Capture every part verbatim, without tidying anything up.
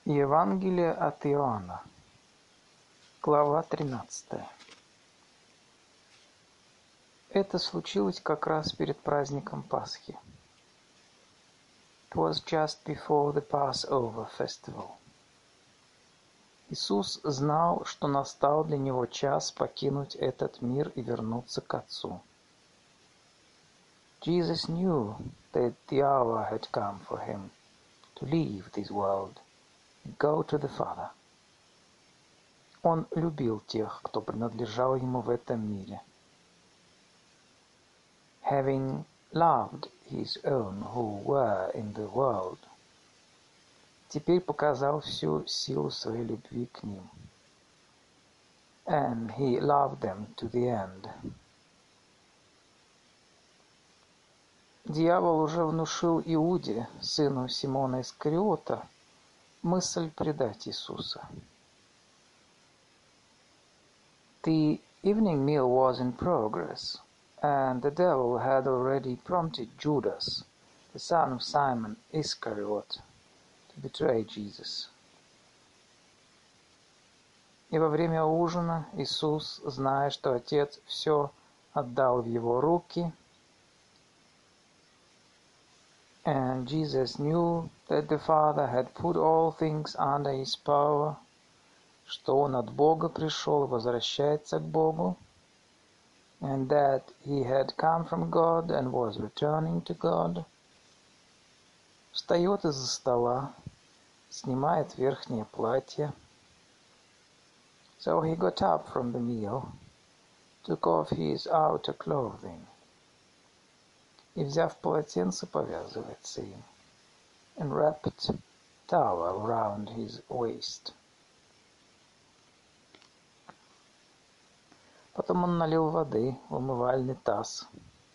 Евангелие от Иоанна, глава тринадцатая. Это случилось как раз перед праздником Пасхи. It was just before the Passover festival. Иисус знал, что настал для него час покинуть этот мир и вернуться к Отцу. Jesus knew that the hour had come for him to leave this world and go to the Father. Он любил тех, кто принадлежал ему в этом мире. Having loved his own who were in the world, теперь показал всю силу своей любви к ним. And he loved them to the end. Дьявол уже внушил Иуде, сыну Симона Искариота, мысль предать Иисуса. The evening meal was in progress, and the devil had already prompted Judas, the son of Simon Iscariot, to betray Jesus. И во время ужина Иисус, зная, что Отец все отдал в его руки, and Jesus knew that the Father had put all things under his power, что он от Бога пришел и возвращается к Богу, and that he had come from God and was returning to God, встает из-за стола, снимает верхнее платье. So he got up from the meal, took off his outer clothing, и, взяв полотенце, повязывается им, and wrapped towel around his waist. Потом он налил воды в умывальный таз.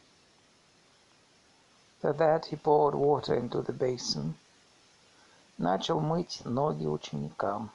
After that he poured water into the basin, начал мыть ноги ученикам,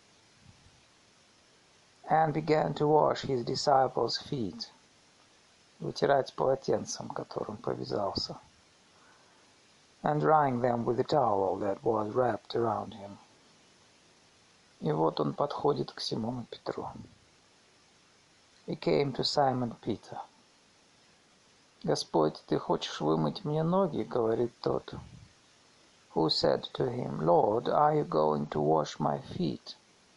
and began to wash his disciples' feet, вытирать полотенцем, которым повязался, and drying them with the towel that was wrapped around him. И вот он подходит к Симону Петру. He came to Simon Peter. «Господь, ты хочешь вымыть мне ноги?» — говорит тот. Who said to him, Lord, are you going to wash my feet?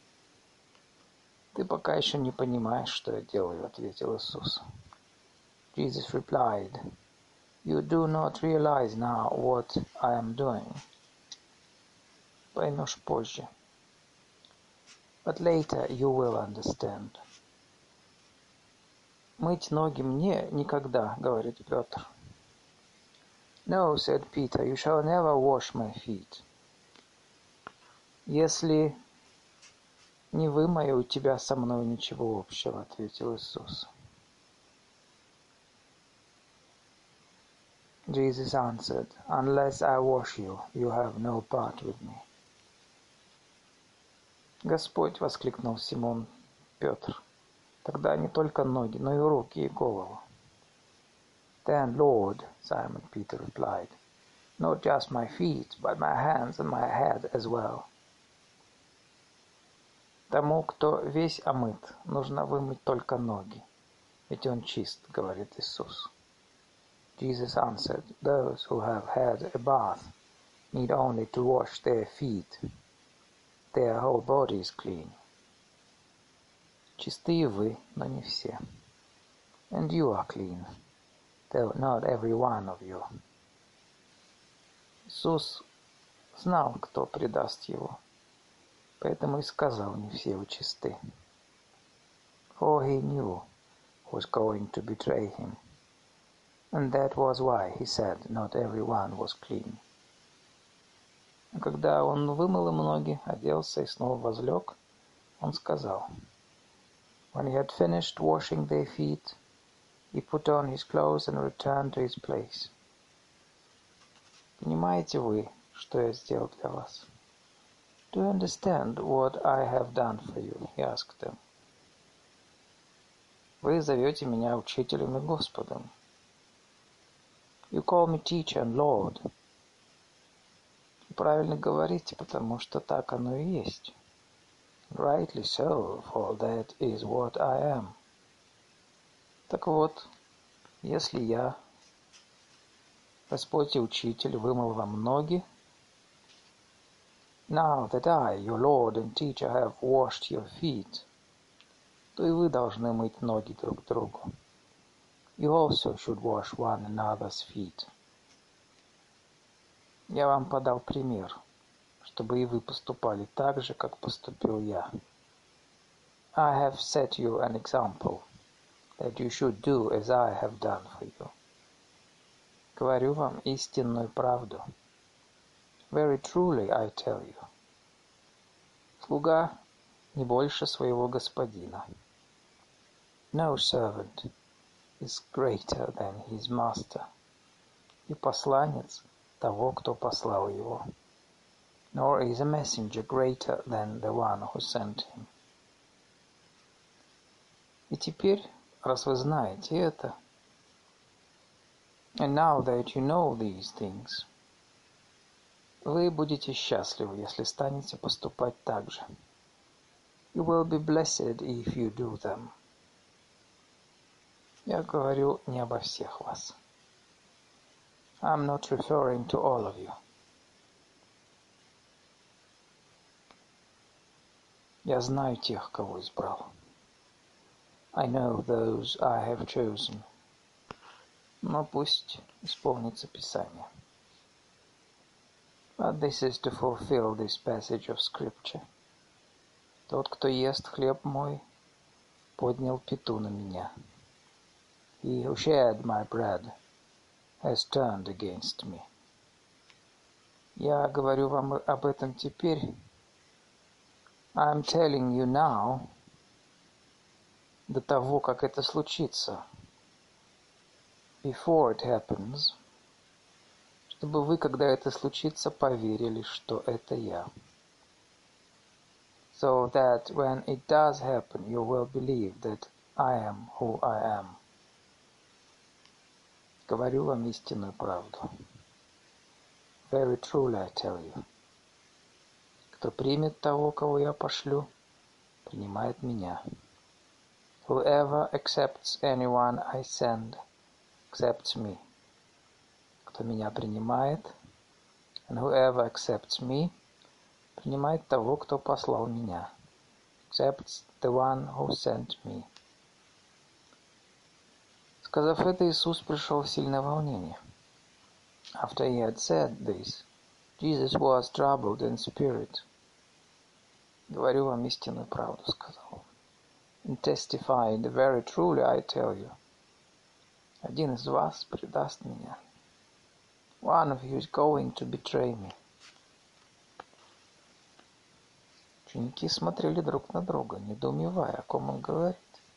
«Ты пока еще не понимаешь, что я делаю», — ответил Иисус. Jesus replied, You do not realize now what I am doing. Поймешь позже. But later you will understand. «Мыть ноги мне никогда», — говорит Петр. No, said Peter, you shall never wash my feet. «Если не вымою, у тебя со мной ничего общего», — ответил Иисус. Jesus answered, Unless I wash you, you have no part with me. «Господь», — воскликнул Симон Петр, — «тогда не только ноги, но и руки и голову». Then, Lord, Simon Peter replied, Not just my feet, but my hands and my head as well. «Тому, кто весь омыт, нужно вымыть только ноги, ведь он чист», — говорит Иисус. Jesus answered, Those who have had a bath need only to wash their feet. Their whole body is clean. Чистые вы, но не все. And you are clean, though not every one of you. Иисус знал, кто предаст его, поэтому и сказал, не все вы чисты. For he knew who was going to betray him, and that was why he said, not every one was clean. А когда он вымыл им ноги, оделся и снова возлег, он сказал, When he had finished washing their feet, he put on his clothes and returned to his place. Понимаете вы, что я сделал для вас? Do you understand what I have done for you? He asked them. Вы зовете меня учителем и Господом. You call me teacher and Lord. И правильно говорите, потому что так оно и есть. Rightly so, for that is what I am. Так вот, если я, Господь и Учитель, вымыл вам ноги, now that I, your Lord and Teacher, have washed your feet, то и вы должны мыть ноги друг другу. You also should wash one another's feet. Я вам подал пример, чтобы и вы поступали так же, как поступил я. I have set you an example, that you should do as I have done for you. Говорю вам истинную правду. Very truly I tell you. Слуга не больше своего господина. No servant is greater than his master. И посланец того, кто послал его. Nor is a messenger greater than the one who sent him. И теперь, раз вы знаете это, and now that you know these things, вы будете счастливы, если станете поступать так же. You will be blessed if you do them. Я говорю не обо всех вас. I'm not referring to all of you. Я знаю тех, кого избрал. I know those I have chosen. Но пусть исполнится Писание. But this is to fulfill this passage of Scripture. Тот, кто ест хлеб мой, поднял пяту на меня. He who shared my bread has turned against me. Я говорю вам об этом теперь. I'm telling you now, до того, как это случится, before it happens, чтобы вы, когда это случится, поверили, что это я. So that when it does happen, you will believe that I am who I am. Говорю вам истинную правду. Very truly I tell you. Кто примет того, кого я пошлю, принимает меня. Whoever accepts anyone I send, accepts me. Кто меня принимает, and whoever accepts me, принимает того, кто послал меня. Accepts the one who sent me. Сказав это, Иисус пришел в сильное волнение. After he had said this, Jesus was troubled in spirit. Говорю вам истинную правду, сказал. And testifying, very truly I tell you. Один из вас предаст меня. One of you is going to betray me. Ученики смотрели друг на друга, недоумевая, о ком он говорит.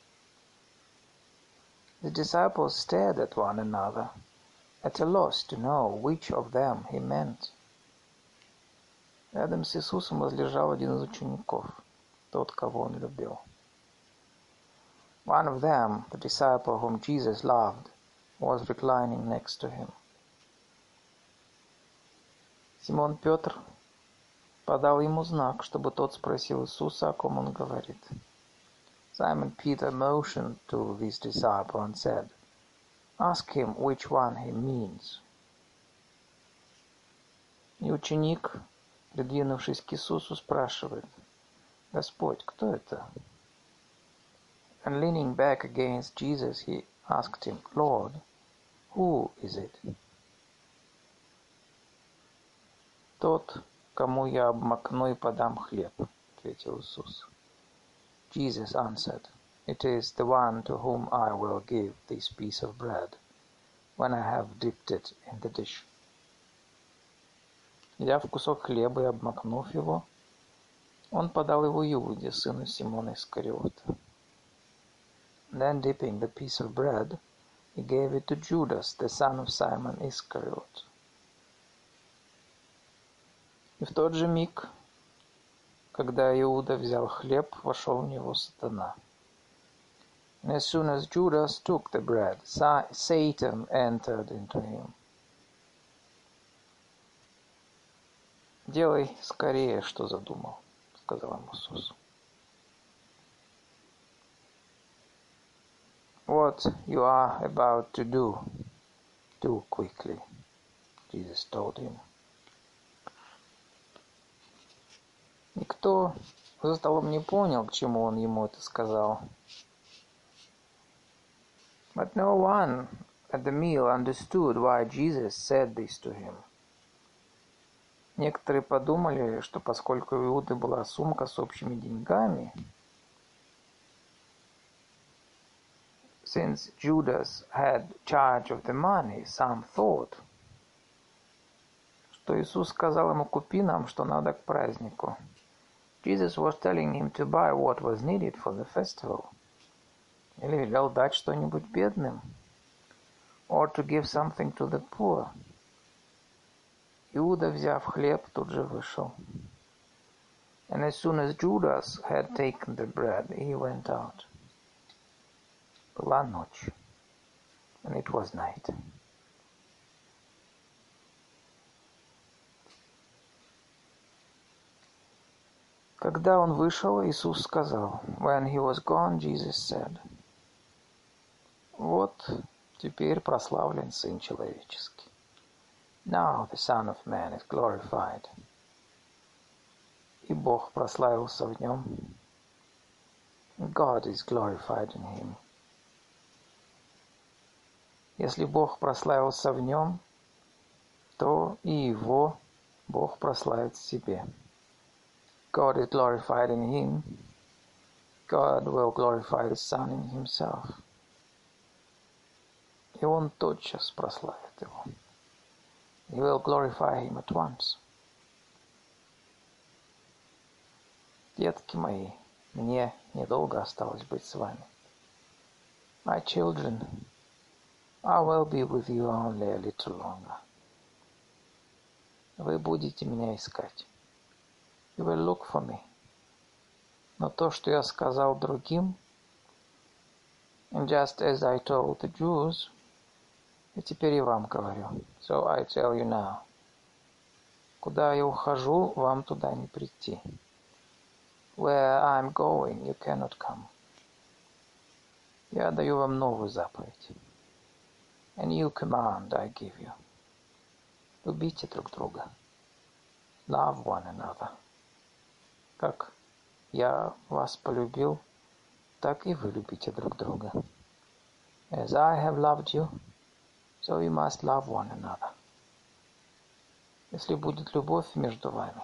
The disciples stared at one another, at a loss to know which of them he meant. Рядом с Иисусом возлежал один из учеников, тот, кого он любил. One of them, the disciple whom Jesus loved, was reclining next to him. Симон Петр подал ему знак, чтобы тот спросил Иисуса, о ком он говорит. Simon Peter motioned to this disciple and said, "Ask him which one he means." И ученик, придвинувшись к Иисусу, спрашивает, «Господь, кто это?» And leaning back against Jesus, he asked him, "Lord, who is it?" «Тот, кому я обмакну и подам хлеб», — ответил Иисус. Jesus answered, "It is the one to whom I will give this piece of bread, when I have dipped it in the dish." Взяв кусок хлеба и обмакнув его, он подал его Иуде, сыну Симона Искариота. Then dipping the piece of bread, he gave it to Judas, the son of Simon Iscariot. И в тот же миг, когда Иуда взял хлеб, вошел в него сатана. And as soon as Judas took the bread, Satan entered into him. «Делай скорее, что задумал», — сказал ему Иисус. «What you are about to do, do quickly», Jesus told him. Никто за столом не понял, к чему он ему это сказал. But no one at the meal understood why Jesus said this to him. Некоторые подумали, что поскольку у Иуды была сумка с общими деньгами, since Judas had charge of the money, some thought, что Иисус сказал ему: «Купи нам, что надо к празднику». Jesus was telling him to buy what was needed for the festival. Или велел дать что-нибудь бедным. Or to give something to the poor. Иуда, взяв хлеб, тут же вышел. And as soon as Judas had taken the bread, he went out. Была ночь. And it was night. Когда он вышел, Иисус сказал: When he was gone, Jesus said, вот теперь прославлен Сын Человеческий. Now the Son of Man is glorified. И Бог прославился в нем. God is glorified in him. Если Бог прославился в нем, то и его Бог прославит в себе. God is glorified in him. God will glorify the Son in himself. И он тотчас прославит его. He will glorify him at once. Детки мои, мне недолго осталось быть с вами. My children, I will be with you only a little longer. Вы будете меня искать. You will look for me. Но то, что я сказал другим, and just as I told the Jews, и теперь и вам говорю. So I tell you now. Куда я ухожу, вам туда не прийти. Where I'm going, you cannot come. Я даю вам новую заповедь. A new command I give you. Любите друг друга. Love one another. Как я вас полюбил, так и вы любите друг друга. As I have loved you, so you must love one another. Если будет любовь между вами,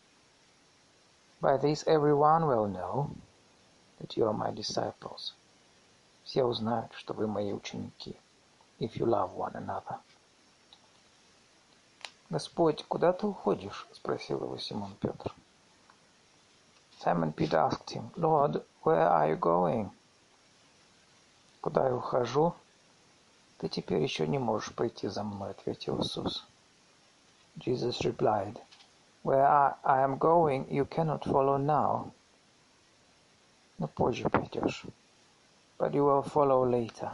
by this everyone will know that you are my disciples. Все узнают, что вы мои ученики. If you love one another. Господь, куда ты уходишь? Спросил его Симон Петр. Simon Peter asked him, Lord, where are you going? Куда я ухожу? Ты теперь еще не можешь пойти за мной, ответил Иисус. Jesus replied, Where I, I am going, you cannot follow now. Но позже пойдешь. But you will follow later.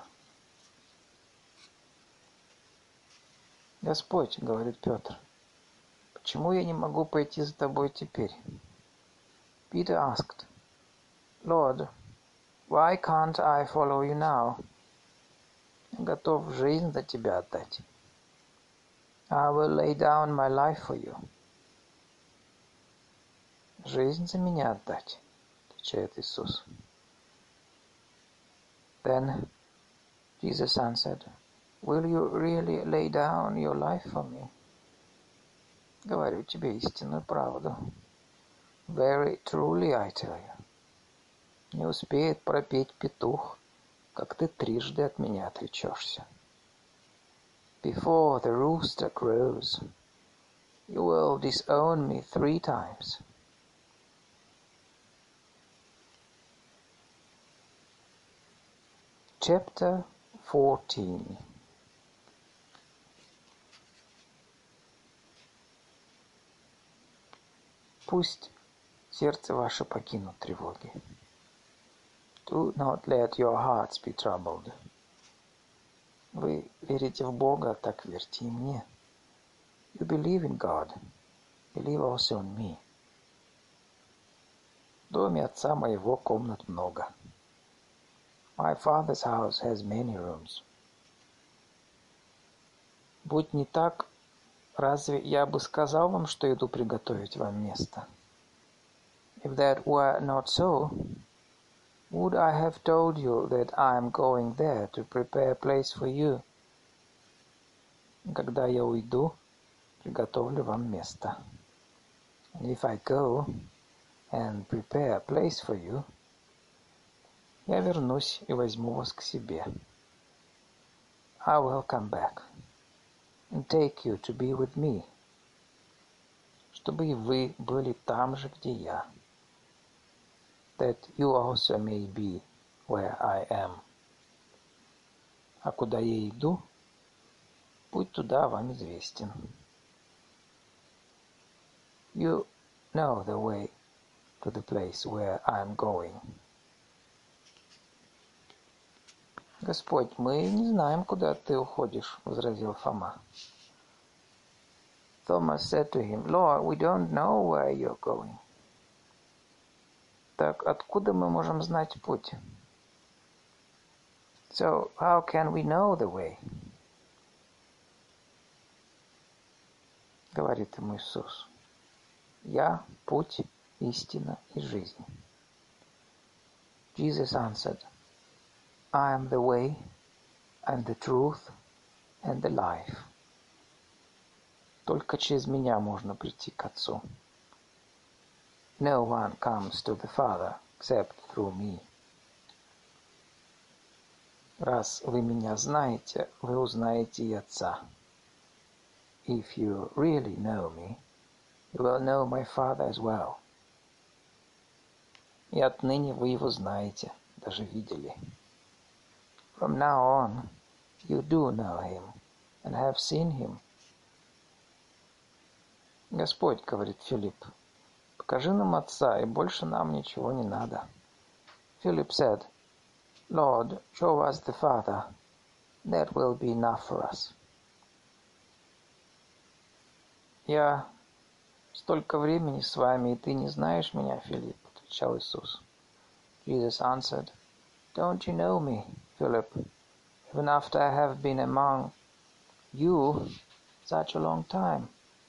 Господь, говорит Петр, почему я не могу пойти за тобой теперь? Peter asked, Lord, why can't I follow you now? Я готов жизнь за тебя отдать. I will lay down my life for you. Жизнь за меня отдать, отвечает Иисус. Then Jesus answered, Will you really lay down your life for me? Говорю тебе истинную правду. Very truly I tell you. Не успеет пропеть петух, как ты трижды от меня отречешься. Before the rooster crows, you will disown me three times. Chapter fourteen. Пусть сердце ваше покинут тревоги. Do not let your hearts be troubled. Вы верите в Бога, так верьте и мне. You believe in God, believe also in me. В доме отца моего комнат много. My father's house has many rooms. Будь не так, разве я бы сказал вам, что иду приготовить вам место? If that were not so, would I have told you that I am going there to prepare a place for you? Когда я уйду, приготовлю вам место. And if I go and prepare a place for you, я вернусь и возьму вас к себе. I will come back and take you to be with me, чтобы и вы были там же, где я. That you also may be where I am. А куда я иду, путь туда вам известен. You know the way to the place where I am going. Господь, мы не знаем, куда ты уходишь, возразил Фома. Thomas said to him, Lord, we don't know where you're going. Так откуда мы можем знать путь? So how can we know the way? Говорит ему Иисус. Я путь, истина и жизнь. Jesus answered, I am the way and the truth and the life. Только через меня можно прийти к Отцу. No one comes to the Father except through me. Раз вы меня знаете, вы узнаете и Отца. If you really know me, you will know my Father as well. И отныне вы его знаете, даже видели. From now on, you do know him and have seen him. Господь, говорит Филипп, покажи нам Отца, и больше нам ничего не надо. Philip said, Lord, show us the Father. That will be enough for us. Я столько времени с вами, и ты не знаешь меня, Филипп, отвечал Иисус. Jesus answered, Don't you know me, Philip, even after I have been among you such a long time?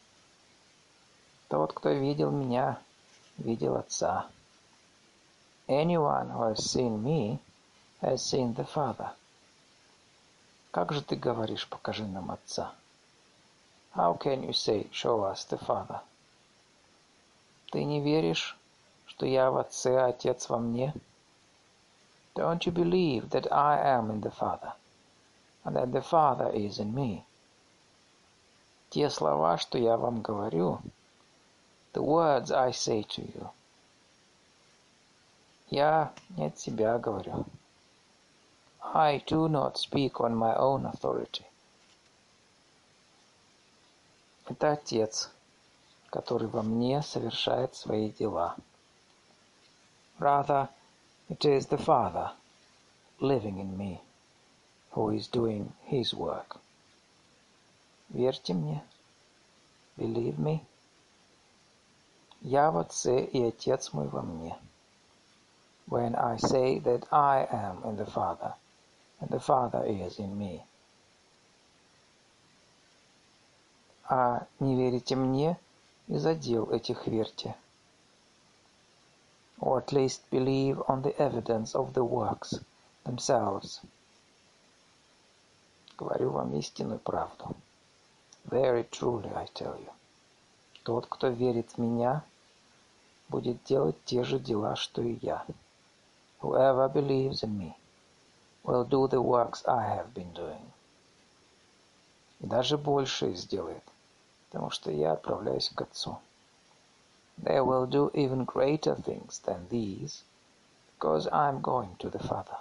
Тот, кто видел меня, видел Отца. Anyone who has seen me has seen the Father. Как же ты говоришь, покажи нам Отца? How can you say, show us the Father? Ты не веришь, что я в Отце, а Отец во мне? Don't you believe that I am in the Father, and that the Father is in me? Те слова, что я вам говорю, the words I say to you, я не от себя говорю. I do not speak on my own authority. Это Отец, который во мне совершает свои дела. Rather, it is the Father living in me, who is doing His work. Верьте мне. Believe me. Я в Отце, и Отец мой во мне. When I say that I am in the Father, and the Father is in me. А не верите мне, из-за дел этих верьте. Or at least believe on the evidence of the works themselves. Говорю вам истинную правду. Very truly I tell you. Тот, кто верит в меня, будет делать те же дела, что и я. Whoever believes in me will do the works I have been doing. И даже больше сделает, потому что я отправляюсь к Отцу. They will do even greater things than these, because I am going to the Father.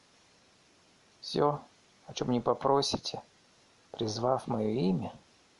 Все, о чем не попросите, призвав мое имя,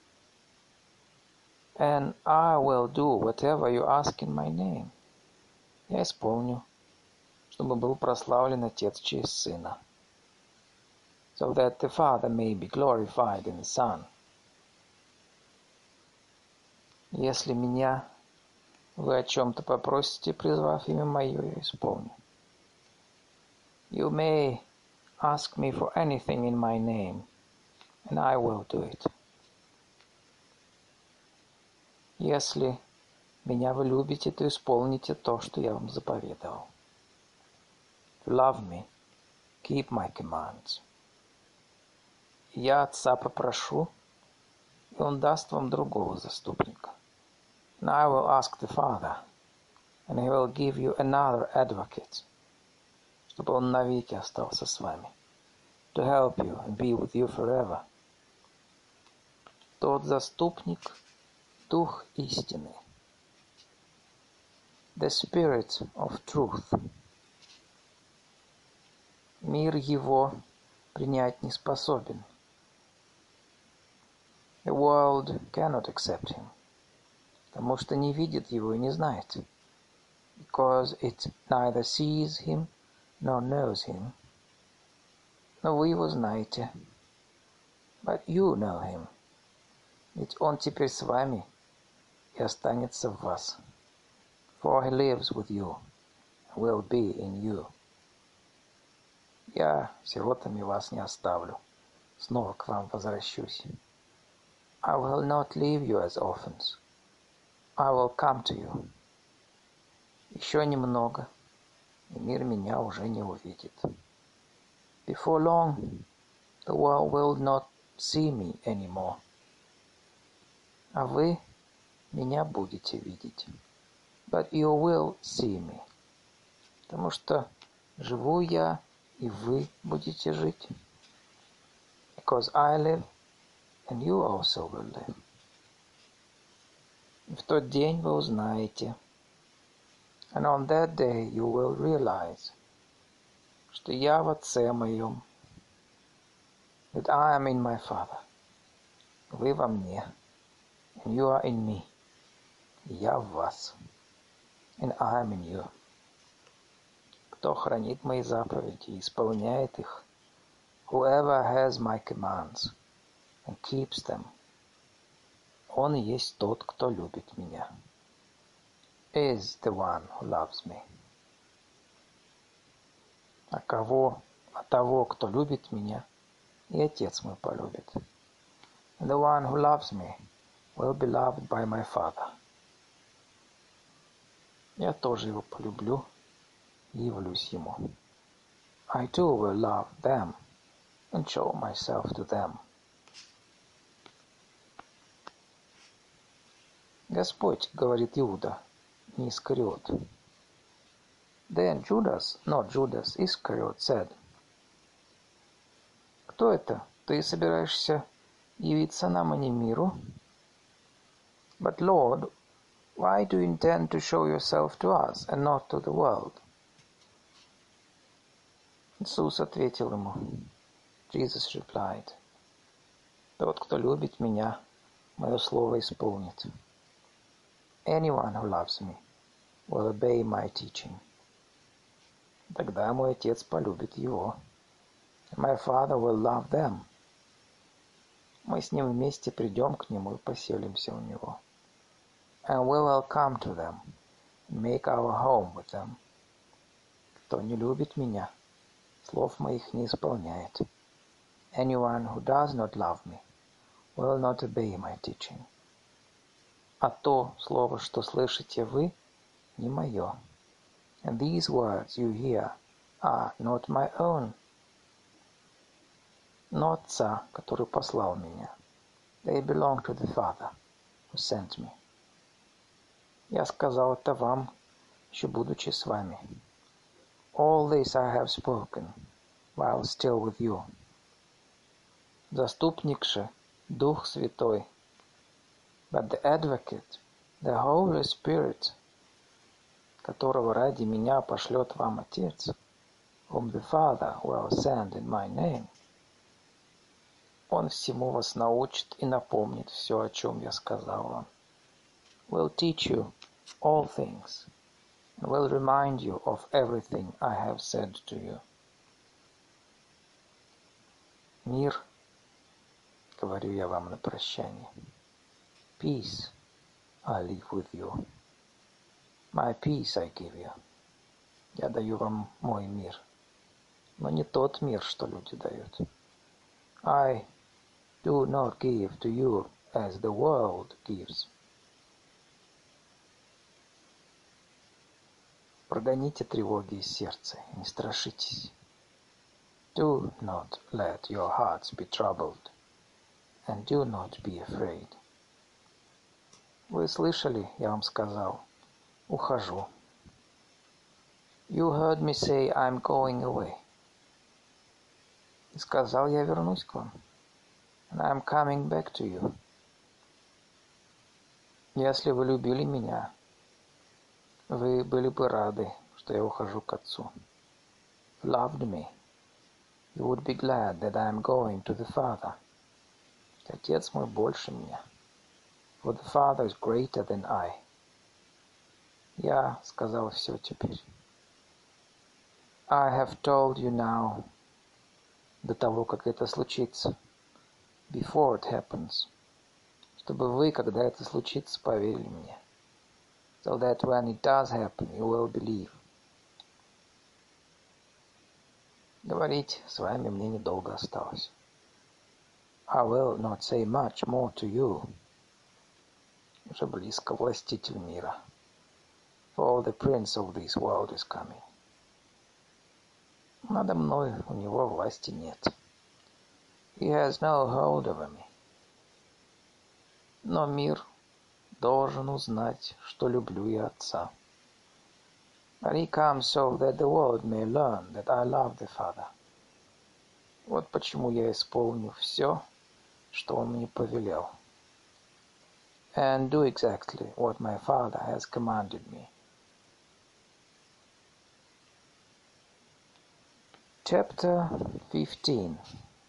and I will do whatever you ask in my name. Я исполню, чтобы был прославлен Отец через Сына, so that the Father may be glorified in the Son. Если меня вы о чем-то попросите, призвав имя мое, я исполню. You may ask me for anything in my name, and I will do it. Если меня вы любите, то исполните то, что я вам заповедовал. If you love me, keep my commands. Я Отца попрошу, и Он даст вам другого заступника. And I will ask the Father, and He will give you another advocate, чтобы Он навеки остался с вами, to help you and be with you forever. Тот заступник — Дух истины, the Spirit of truth. Мир его принять не способен. The world cannot accept him, потому что не видит его и не знает, because it neither sees him nor knows him. Но вы его знаете, but you know him, ведь он теперь с вами и останется в вас, for he lives with you and will be in you. Я сиротами вас не оставлю, снова к вам возвращусь. I will not leave you as orphans. I will come to you. Еще немного, и мир меня уже не увидит. Before long, the world will not see me anymore. А вы меня будете видеть. But you will see me. Потому что живу я, и вы будете жить. Because I live, and you also will live. И в тот день вы узнаете, and on that day you will realize, что я в Отце моем, that I am in my Father, вы во мне, and you are in me, и я в вас, and I am in you. Кто хранит мои заповеди и исполняет их, whoever has my commands and keeps them, он и есть тот, кто любит меня, is the one who loves me. А кого, а того, кто любит меня, и Отец мой полюбит. And the one who loves me will be loved by my Father. Я тоже его полюблю и явлюсь ему. I too will love them and show myself to them. Господь, говорит Иуда, не Искариот. Then Judas, not Judas Iscariot, said, кто это? Ты собираешься явиться нам, а не миру? But Lord, why do you intend to show yourself to us and not to the world? Иисус ответил ему. Jesus replied, тот, кто любит меня, мое слово исполнит. Anyone who loves me will obey my teaching. Тогда мой Отец полюбит его. My Father will love them. Мы с ним вместе придем к нему и поселимся у него. And we will come to them and make our home with them. Кто не любит меня, слов моих не исполняет. Anyone who does not love me will not obey my teaching. А то слово, что слышите вы, не мое. And these words you hear are not my own, но Отца, который послал меня. They belong to the Father who sent me. Я сказал это вам, еще будучи с вами. All this I have spoken while still with you. Заступник же, Дух Святой, but the Advocate, the Holy Spirit, которого ради меня пошлет вам Отец, whom the Father will send in my name, Он всему вас научит и напомнит все, о чем я сказал вам. Will teach you all things, and will remind you of everything I have said to you. Мир, говорю я вам на прощание. Peace, I live with you. My peace I give you. Я даю вам мой мир, но не тот мир, что люди дают. I do not give to you as the world gives. Прогоните тревоги из сердца, не страшитесь. Do not let your hearts be troubled, and do not be afraid. Вы слышали, я вам сказал, ухожу. You heard me say I'm going away. И сказал, я вернусь к вам. And I'm coming back to you. Если вы любили меня, вы были бы рады, что я ухожу к Отцу. Loved me, you would be glad that I am going to the Father. Отец мой больше меня. For the Father is greater than I. Я сказал все теперь. I have told you now, до того, как это случится, before it happens, чтобы вы, когда это случится, поверили мне. So that when it does happen, you will believe. Говорить с вами мне недолго осталось. I will not say much more to you. Уже близко властитель мира. For the prince of this world is coming. Надо мной у него власти нет. He has no hold over me. Но мир должен узнать, что люблю я Отца. But he comes so that the world may learn that I love the Father. Вот почему я исполню все, что он мне повелел. And do exactly what my Father has commanded me. Chapter fifteen.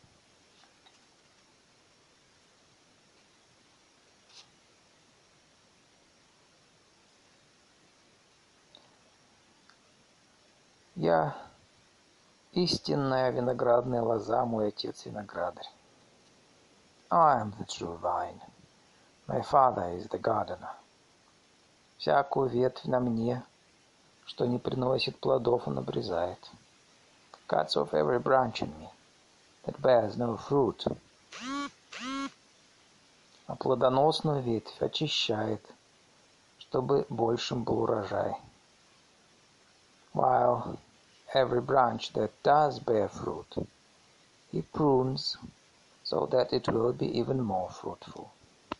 Я истинная виноградная лоза, мой отец виноградарь. I am the true vine. My father is the gardener. Всякую ветвь на мне, что не приносит плодов, он обрезает. Cuts off every branch in me that bears no fruit. А плодоносную ветвь очищает, чтобы большим был урожай. While every branch that does bear fruit, he prunes so that it will be even more fruitful.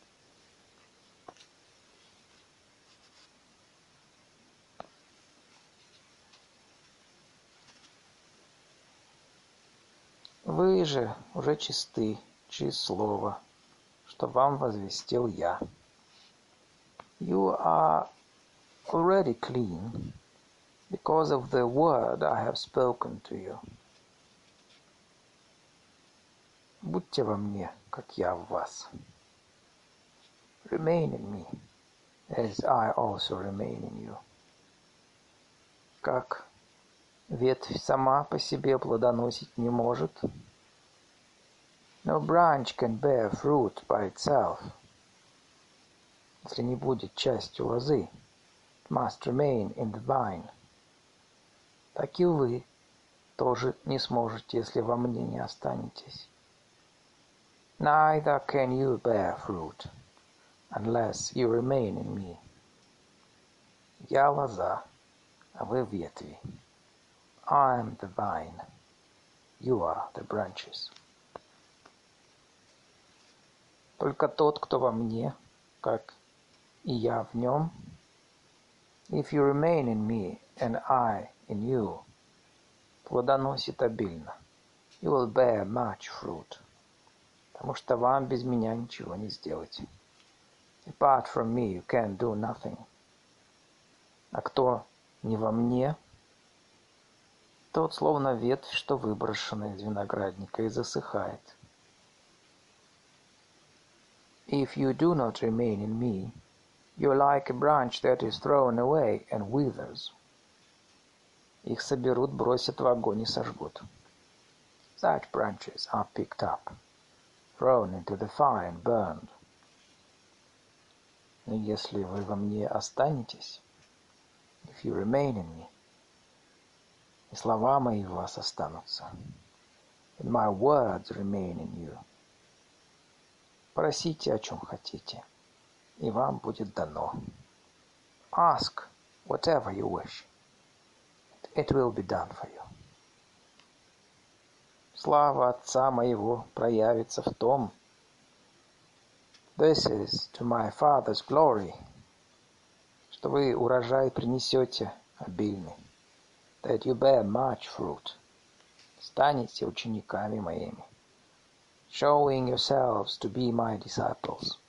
Вы же уже чисты через слово, что вам возвестил я. You are already clean because of the word I have spoken to you. Будьте во мне, как я в вас. Remain in me, as I also remain in you. Как ветвь сама по себе плодоносить не может. No branch can bear fruit by itself. Если не будет частью лозы, it must remain in the vine. Так и вы тоже не сможете, если во мне не останетесь. Neither can you bear fruit unless you remain in me. Я лоза, а вы ветви. I am the vine, you are the branches. Только тот, кто во мне, как и я в нем, if you remain in me and I in you, плодоносит обильно. You will bear much fruit. Потому что вам без меня ничего не сделать. Apart from me you can do nothing. А кто не во мне, тот словно ветвь, что выброшена из виноградника и засыхает. If you do not remain in me, you are like a branch that is thrown away and withers. Их соберут, бросят в огонь и сожгут. Such branches are picked up, thrown into the fire and burned. Но если вы во мне останетесь, if you remain in me, и слова мои в вас останутся, and my words remain in you, просите, о чем хотите, и вам будет дано. Ask whatever you wish. It will be done for you. Слава Отца моего проявится в том, this is to my Father's glory, что вы урожай принесете обильный, that you bear much fruit, станете учениками моими, showing yourselves to be my disciples.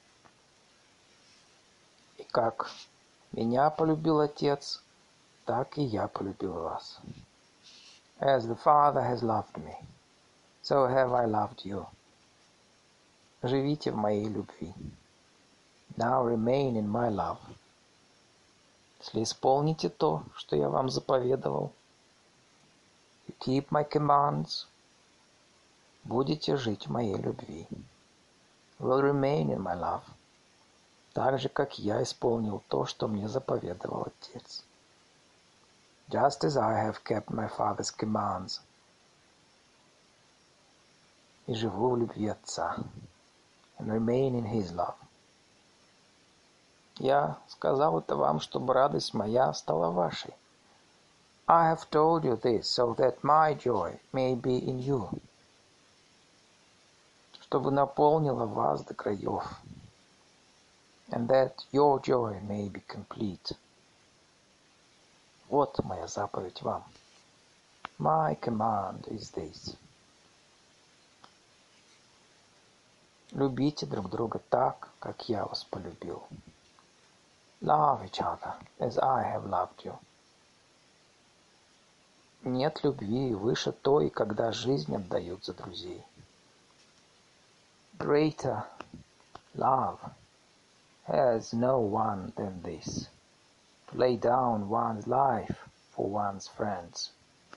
И как меня полюбил Отец, так и я полюбил вас. As the Father has loved me, so have I loved you. Живите в моей любви. Now remain in my love. Если исполните то, что я вам заповедовал, you keep my commands, будете жить в моей любви. Will remain in my love. Так же, как я исполнил то, что мне заповедовал Отец. Just as I have kept my Father's commands. И живу в любви Отца. And remain in His love. Я сказал это вам, чтобы радость моя стала вашей. I have told you this, so that my joy may be in you. Чтобы наполнила вас до краев. And that your joy may be complete. Вот моя заповедь вам. My command is this. Любите друг друга так, как я вас полюбил. Love each other as I have loved you. Нет любви выше той, когда жизнь отдают за друзей. Greater love has no one than this, to lay down one's life for one's friends.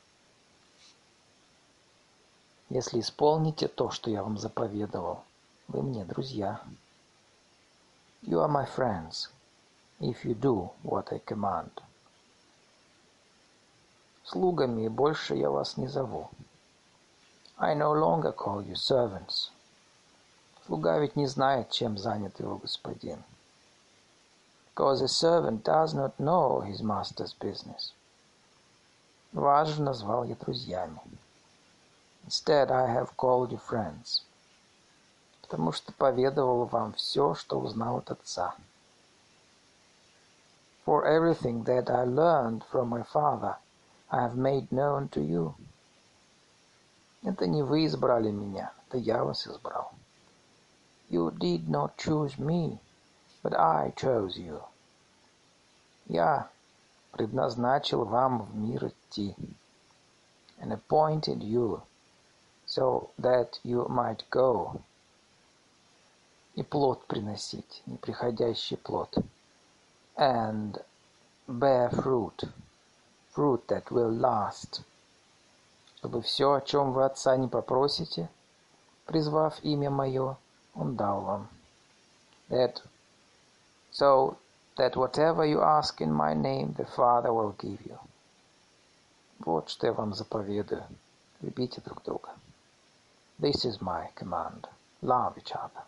Если исполните то, что я вам заповедовал, вы мне друзья. You are my friends, if you do what I command. Слугами больше я вас не зову. I no longer call you servants. Слуга ведь не знает, чем занят его господин. Because a servant does not know his master's business. Вас же назвал я друзьями. Instead, I have called you friends. Потому что поведовал вам все, что узнал от Отца. For everything that I learned from my Father, I have made known to you. Это не вы избрали меня, это я вас избрал. You did not choose me, but I chose you. Я предназначил вам в мир идти, and appointed you, so that you might go, и плод приносить, неприходящий плод, and bear fruit, fruit that will last, чтобы все, о чем вы Отца не попросите, призвав имя Мое, Он дал вам. That, so that whatever you ask in my name, the Father will give you. Вот что я вам заповедую. Любите друг друга. This is my command. Love each other.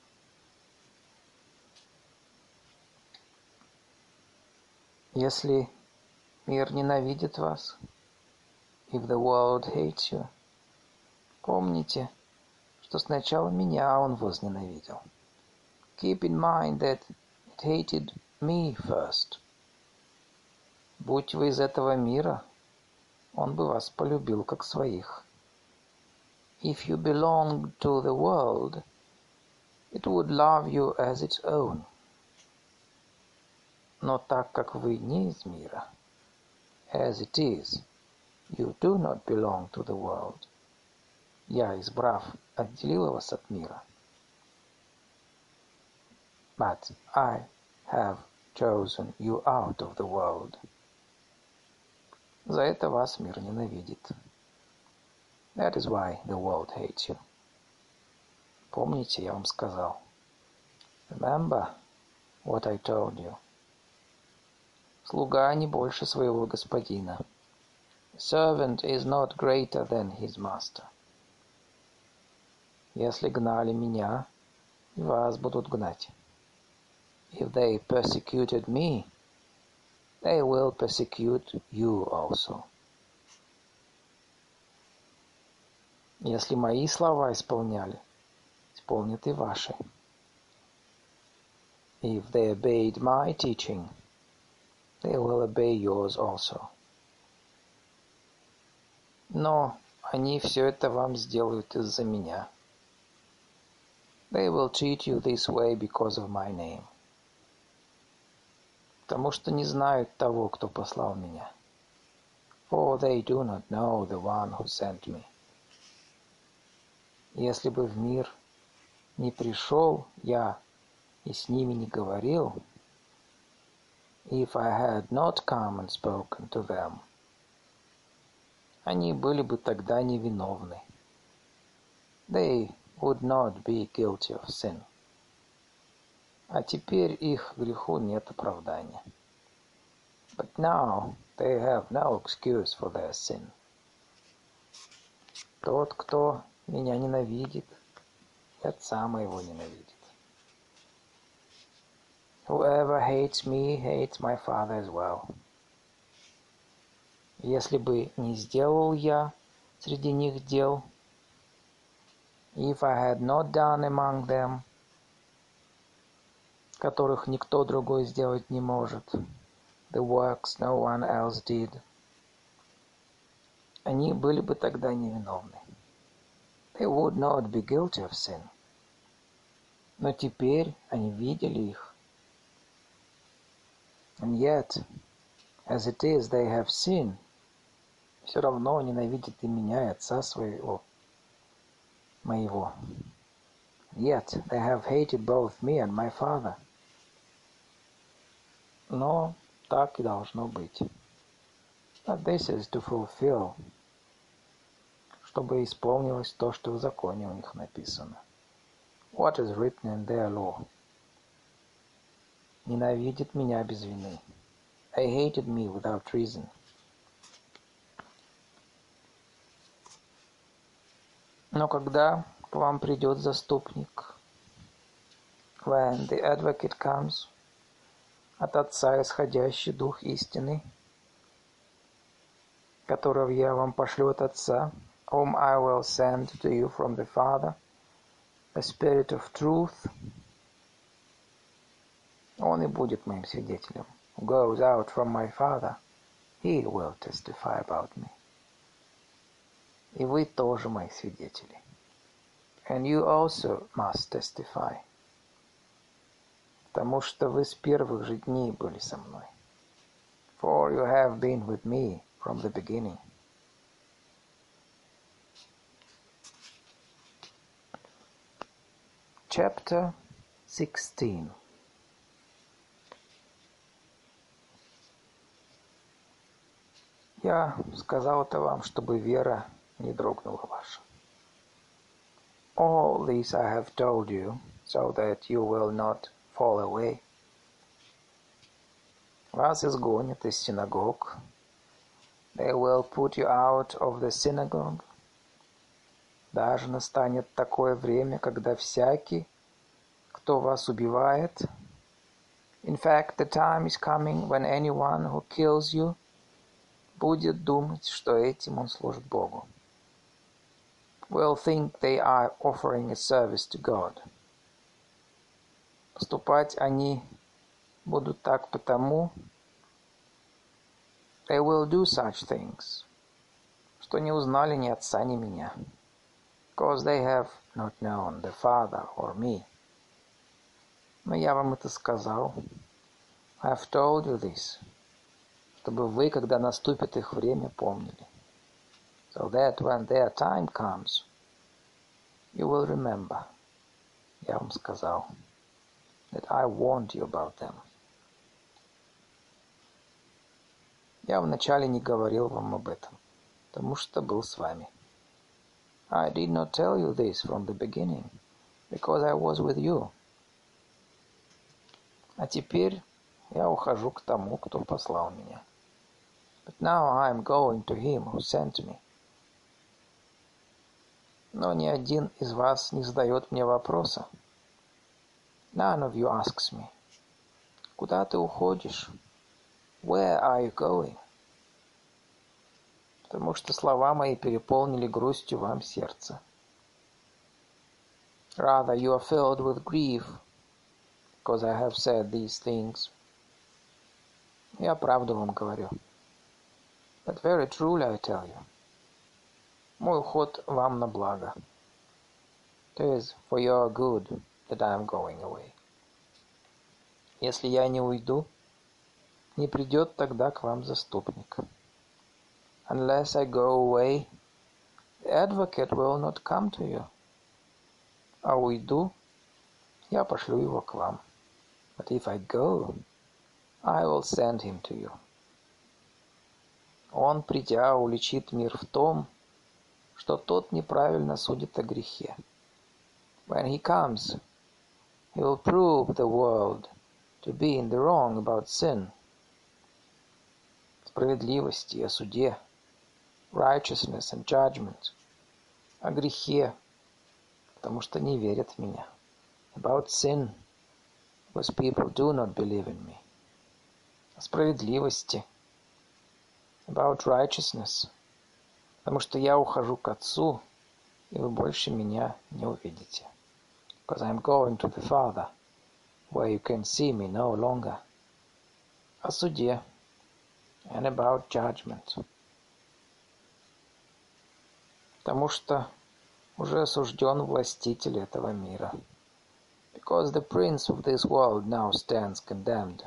Если мир ненавидит вас, if the world hates you, помните, что сначала меня он возненавидел. Keep in mind that it hated me first. Будь вы из этого мира, он бы вас полюбил как своих. If you belonged to the world, it would love you as its own. Но так как вы не из мира, as it is, you do not belong to the world. Я, избрав, отделил вас от мира. But I have chosen you out of the world. За это вас мир ненавидит. That is why the world hates you. Помните, я вам сказал. Remember what I told you. Слуга не больше своего господина. Servant is not greater than his master. Если гнали меня, и вас будут гнать. If they persecuted me, they will persecute you also. Если мои слова исполняли, исполнят и ваши. If they obeyed my teaching, they will obey yours also. Но они все это вам сделают из-за меня. They will treat you this way because of my name. Потому что не знают того, кто послал меня. For they do not know the one who sent me. Если бы в мир не пришел я и с ними не говорил, if I had not come and spoken to them, они были бы тогда невиновны. They would not be guilty of sin. А теперь их греху нет оправдания. But now they have no excuse for their sin. Тот, кто меня ненавидит, и отца моего ненавидит. Whoever hates me hates my father as well. Если бы не сделал я среди них дел, if I had not done among them, которых никто другой сделать не может, the works no one else did, они были бы тогда невиновны. They would not be guilty of sin. Но теперь они видели их. And yet, as it is, they have seen. Все равно ненавидят и меня, и отца своего, моего. Yet, they have hated both me and my father. Но так и должно быть. But this is to fulfill, чтобы исполнилось то, что в законе у них написано. What is written in their law? Ненавидит меня без вины. They hated me without reason. Но когда к вам придет заступник, when the advocate comes, от Отца исходящий Дух истины, которого я вам пошлю от Отца, whom I will send to you from the Father, the Spirit of truth, он и будет моим свидетелем. Who goes out from my Father, he will testify about me. И вы тоже мои свидетели. And you also must testify. Потому что вы с первых же дней были со мной. For you have been with me from the beginning. Chapter sixteen. Я сказал это вам, чтобы вера не дрогнула ваша. All this I have told you, so that you will not fall away. Вас изгонят из синагог. They will put you out of the synagogue. Даже настанет такое время, когда всякий, кто вас убивает, in fact, the time is coming when anyone who kills you будет думать, что этим он служит Богу. Will think they are offering a service to God. Поступать они будут так потому, they will do such things, что не узнали ни отца, ни меня, because they have not known the Father or me. Но я вам это сказал, I have told you this, чтобы вы, когда наступит их время, помнили. So that when their time comes, you will remember. Я вам сказал, that I warned you about them. Я вначале не говорил вам об этом, потому что был с вами. I did not tell you this from the beginning, because I was with you. А теперь я ухожу к тому, кто послал меня. But now I am going to him who sent me. Но ни один из вас не задает мне вопроса. None of you asks me. Куда ты уходишь? Where are you going? Потому что слова мои переполнили грустью вам сердце. Rather, you are filled with grief, because I have said these things. Я правду вам говорю. But very truly I tell you. Мой уход вам на благо. It is for your good that I am going away. Если я не уйду, не придет тогда к вам заступник. Unless I go away, the advocate will not come to you. А уйду, я пошлю его к вам. But if I go, I will send him to you. Он, придя, уличит мир в том, что тот неправильно судит о грехе. When he comes, he will prove the world to be in the wrong about sin. Справедливости и о суде, righteousness and judgment. О грехе, потому что не верят в меня. About sin, because people do not believe in me. О справедливости, about righteousness, потому что я ухожу к Отцу, и вы больше меня не увидите. Because I am going to the Father, where you can see me no longer. О суде, and about judgment. Потому что уже осужден властитель этого мира. Because the prince of this world now stands condemned.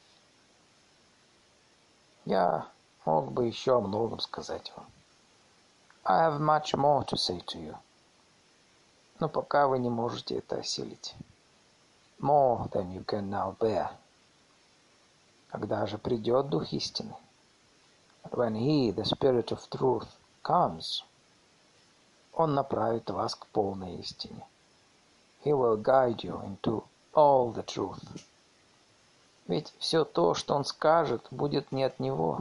Я мог бы еще о многом сказать вам. I have much more to say to you. Но пока вы не можете это осилить. More than you can now bear. Когда же придет Дух истины? But when he, the Spirit of truth, comes, он направит вас к полной истине. He will guide you into all the truth. Ведь все то, что он скажет, будет не от него.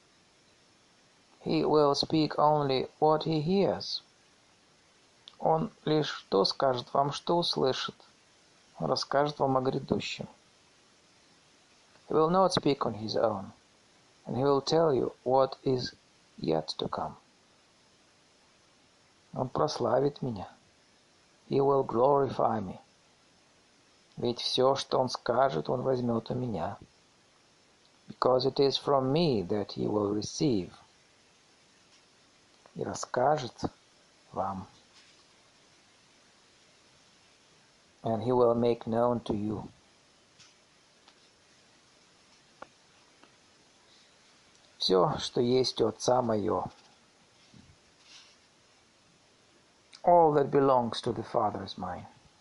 He will speak only what he hears. Он лишь то скажет вам, что услышит. Он расскажет вам о грядущем. He will not speak on his own, and he will tell you what is yet to come. Он прославит меня. He will glorify me. Ведь все, что он скажет, он возьмет у меня. Because it is from me that he will receive. И расскажет вам. And he will make known to you. Все, что есть у Отца мое. All that belongs to the Father is mine.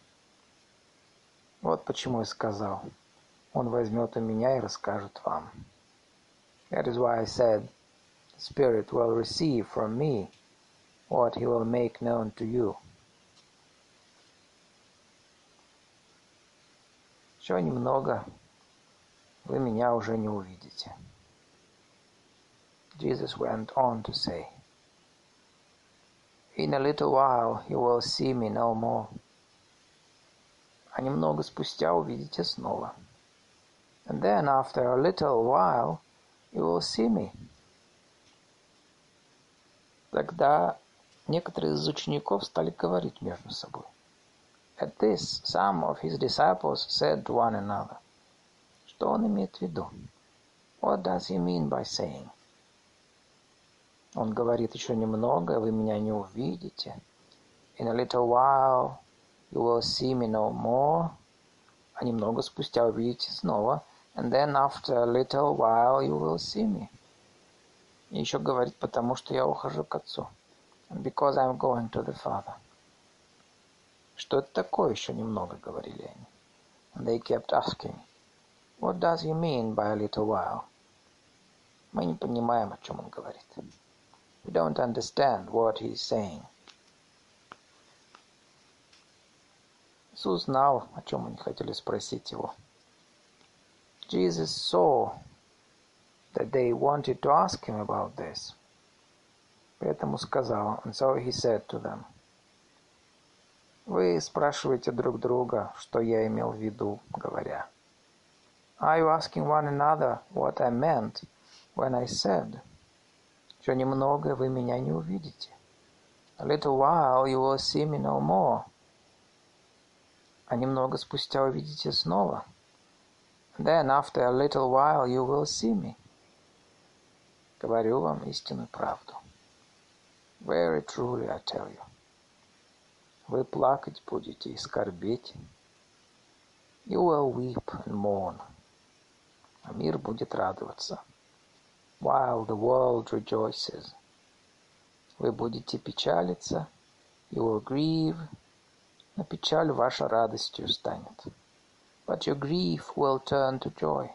Вот почему я сказал, он возьмет у меня и расскажет вам. That is why I said, the Spirit will receive from me what he will make known to you. Еще немного, вы меня уже не увидите. Jesus went on to say, in a little while you will see me no more. А немного спустя увидите снова. And then after a little while you will see me. Тогда некоторые из учеников стали говорить между собой. At this, some of his disciples said to one another, что он имеет в виду? What does he mean by saying? Он говорит, еще немного, вы меня не увидите. In a little while you will see me no more. А немного спустя увидите снова. And then after a little while you will see me. И еще говорит, потому что я ухожу к Отцу. And because I'm going to the Father. Что это такое еще немного, говорили они. And they kept asking, what does he mean by a little while? Мы не понимаем, о чем он говорит. We don't understand what he's saying. Иисус знал, о чем они хотели спросить его. Jesus saw that they wanted to ask him about this. Поэтому сказал, and so he said to them, вы спрашиваете друг друга, что я имел в виду, говоря. Are you asking one another what I meant when I said, что немного вы меня не увидите? A little while you will see me no more. А немного спустя увидите снова. Then after a little while you will see me. Говорю вам истинную правду. Very truly I tell you. Вы плакать будете и скорбеть. You will weep and mourn. А мир будет радоваться. While the world rejoices. Вы будете печалиться. You will grieve. Но печаль ваша радостью станет. But your grief will turn to joy.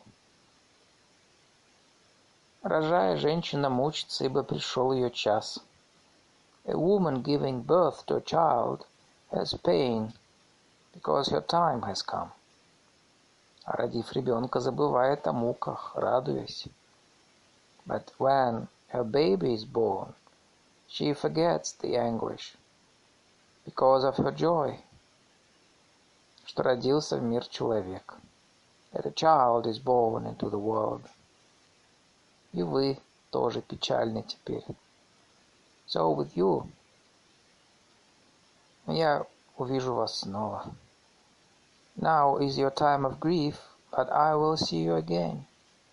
Рожая, женщина мучится, ибо пришел ее час. A woman giving birth to a child has pain, because her time has come. А родив ребенка, забывает о муках, радуясь. But when her baby is born, she forgets the anguish, because of her joy, что родился в мир человек. That a child is born into the world. И вы тоже печальны теперь. So with you. Я увижу вас снова. Now is your time of grief, but I will see you again.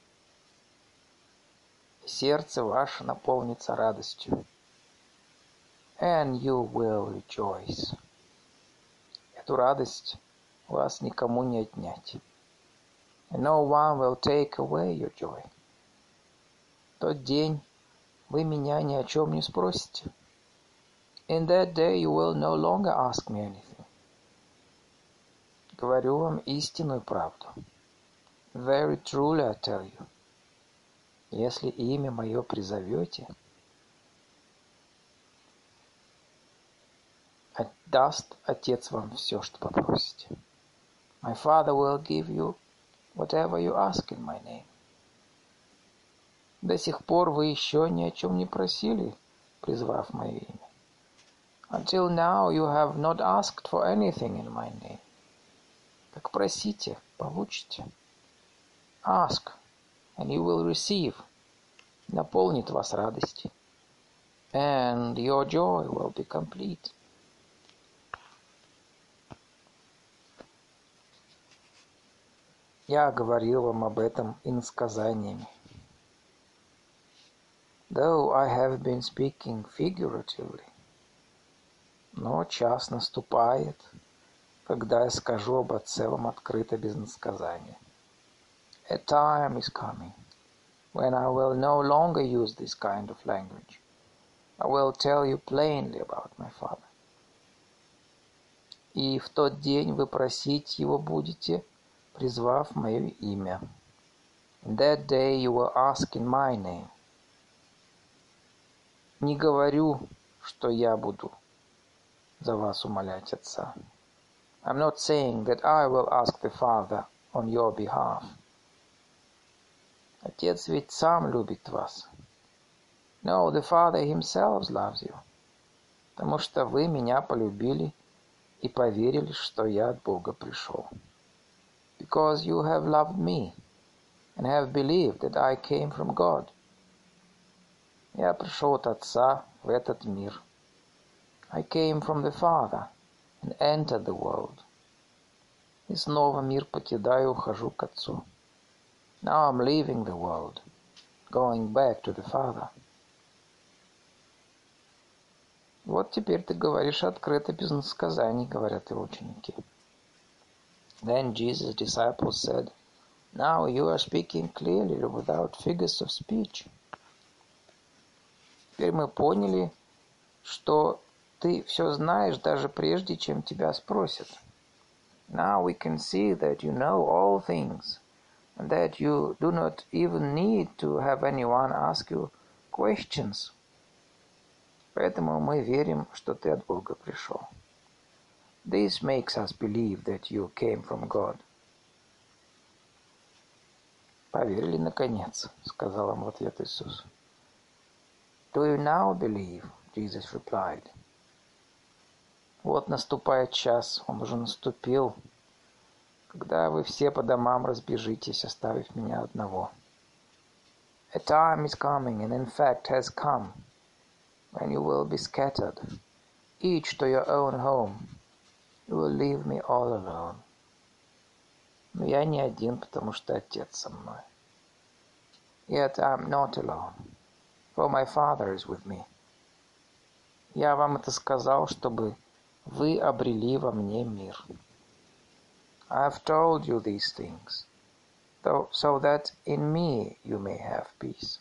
И сердце ваше наполнится радостью. And you will rejoice. Эту радость у вас никому не отнять. And no one will take away your joy. В тот день вы меня ни о чем не спросите. In that day you will no longer ask me anything. Говорю вам истинную правду. Very truly I tell you. Если имя мое призовете, даст Отец вам все, что попросите. My Father will give you whatever you ask in my name. До сих пор вы еще ни о чем не просили, призвав мое имя. Until now you have not asked for anything in my name. Так просите, получите. Ask, and you will receive. Наполнит вас радостью. And your joy will be complete. Я говорил вам об этом иносказаниями. Though I have been speaking figuratively, но час наступает, когда я скажу об Отце вам открыто без иносказания. A time is coming when I will no longer use this kind of language. I will tell you plainly about my Father. И в тот день вы просить Его будете, призвав мое имя. In that day you will ask in my name. Не говорю, что я буду за вас умолять Отца. I'm not saying that I will ask the Father on your behalf. Отец ведь сам любит вас. No, the Father himself loves you. Потому что вы меня полюбили и поверили, что я от Бога пришел. Because you have loved me and have believed that I came from God. Я пришел от Отца в этот мир. I came from the Father and entered the world. И снова мир покидаю, ухожу к Отцу. Now I'm leaving the world, going back to the Father. Вот теперь ты говоришь открыто, без иносказаний, говорят его ученики. Then Jesus' disciples said, Now you are speaking clearly without figures of speech. Теперь мы поняли, что ты все знаешь даже прежде, чем тебя спросят. Now we can see that you know all things, and that you do not even need to have anyone ask you questions. Поэтому мы верим, что ты от Бога пришел. This makes us believe that you came from God. «Поверили, наконец», — сказал им в ответ Иисус. «Do you now believe?» Jesus replied. «Вот наступает час, он уже наступил, когда вы все по домам разбежитесь, оставив меня одного. A time is coming, and in fact has come, when you will be scattered, each to your own home. You will leave me all alone. Но я не один, потому что Отец со мной. Yet I am not alone, for my Father is with me. Я вам это сказал, чтобы вы обрели во мне мир. I have told you these things, though, so that in me you may have peace.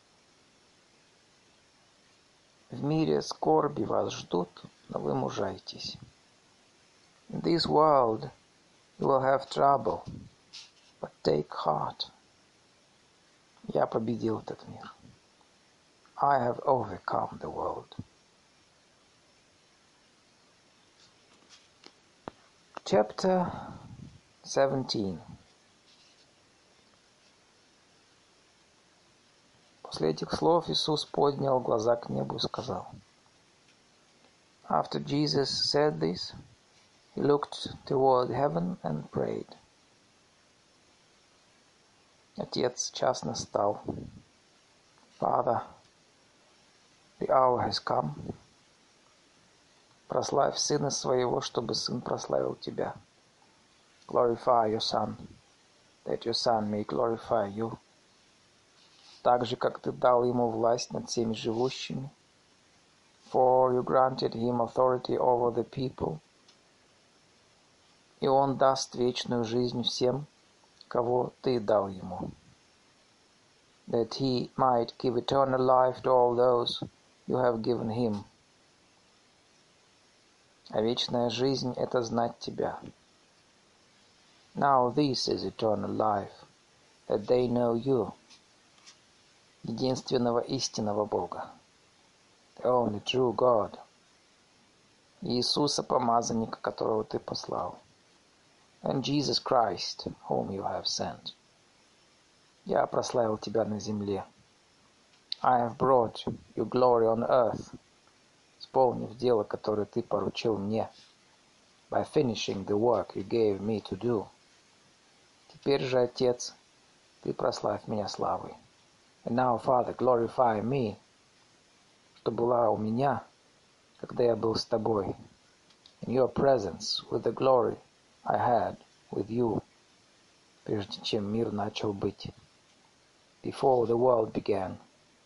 В мире скорби вас ждут, но вы мужайтесь. In this world you will have trouble, but take heart. Я победил этот мир. I have overcome the world. Chapter seventeen. После этих слов Иисус поднял глаза к небу и сказал. After Jesus said this, he looked toward heaven and prayed. Отец, час настал. Father, the hour has come. Прославь Сына Своего, чтобы Сын прославил Тебя. Glorify your Son, that your Son may glorify you. Так же, как Ты дал Ему власть над всеми живущими. For you granted Him authority over the people. И Он даст вечную жизнь всем, кого Ты дал Ему. That He might give eternal life to all those you have given Him. А вечная жизнь — это знать Тебя. Now this is eternal life, that they know you, единственного истинного Бога, the only true God, Иисуса, помазанника, которого Ты послал, and Jesus Christ, whom you have sent. Я прославил Тебя на земле. I have brought you glory on earth, исполнив дело, которое Ты поручил мне, by finishing the work you gave me to do. Теперь же, Отец, Ты прославь меня славой. And now, Father, glorify me, что была у меня, когда я был с Тобой, in your presence, with the glory I had with you, прежде чем мир начал быть, before the world began.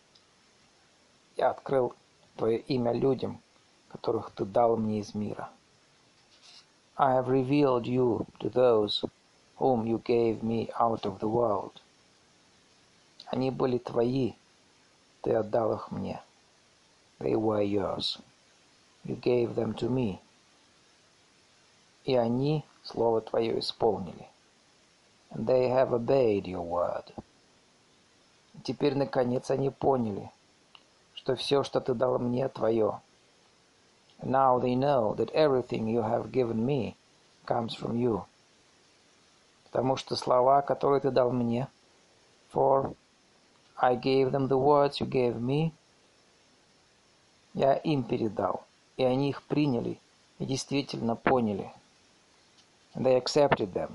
Я открыл Твое имя людям, которых Ты дал мне из мира. I have revealed you to those whom you gave me out of the world. Они были Твои, Ты отдал их мне. They were yours. You gave them to me. И они Слово Твое исполнили. And they have obeyed your word. И теперь, наконец, они поняли, что все, что Ты дал мне, Твое. And now they know that everything you have given me comes from you. Потому что слова, которые Ты дал мне, for I gave them the words you gave me, я им передал, и они их приняли и действительно поняли. And they accepted them.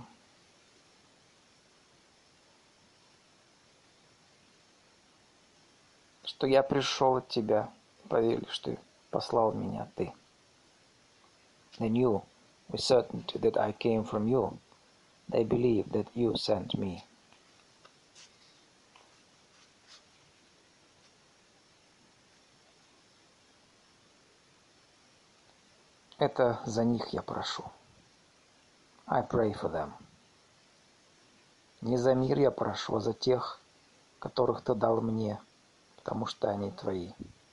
Что я пришел от Тебя, поверили, что послал меня Ты. They knew with certainty that I came from you. They believed that you sent me. Это за них я прошу. I pray for them. Не за мир я прошу, а за тех, которых Ты дал мне, потому что они Твои.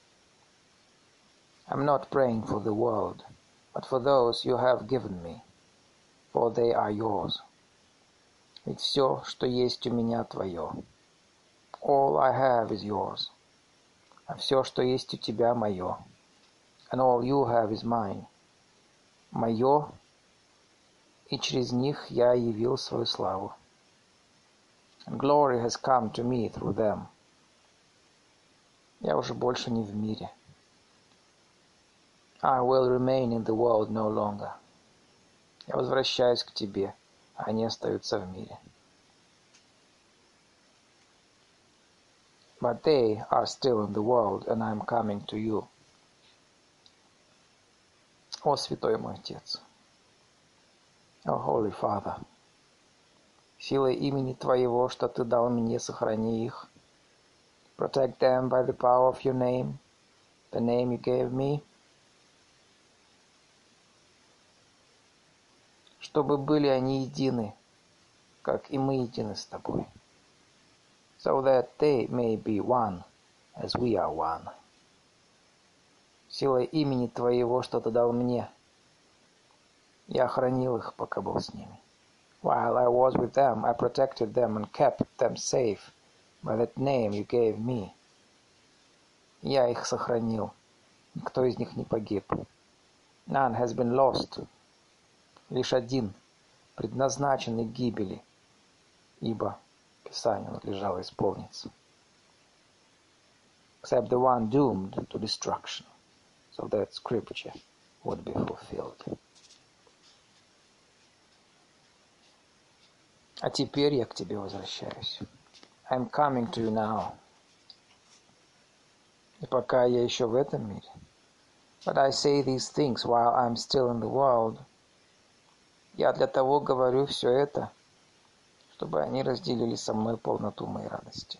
I'm not praying for the world, but for those you have given me, for they are yours. Ведь все, что есть у меня, Твое. All I have is yours. А все, что есть у Тебя, мое. And all you have is mine. Мое, и через них я явил свою славу. And glory has come to me through them. Я уже больше не в мире. I will remain in the world no longer. Я возвращаюсь к тебе, а они остаются в мире. But they are still in the world, and I am coming to you. О, святой мой Отец! О, Holy Father! Силой имени Твоего, что Ты дал мне, сохрани их. Protect them by the power of your name, the name you gave me. Чтобы были они едины, как и мы едины с Тобой. So that they may be one, as we are one. Силой имени Твоего, что Ты дал мне, я охранил их, пока был с ними. While I was with them, I protected them and kept them safe by that name you gave me. Я их сохранил, никто из них не погиб. None has been lost. Лишь один, предназначенный к гибели, ибо Писанию надлежало исполниться. Except the one doomed to destruction, so that scripture would be fulfilled. А теперь я к тебе возвращаюсь. I'm coming to you now. И пока я еще в этом мире. But I say these things while I'm still in the world. Я для того говорю все это, чтобы они разделили со мной полноту моей радости.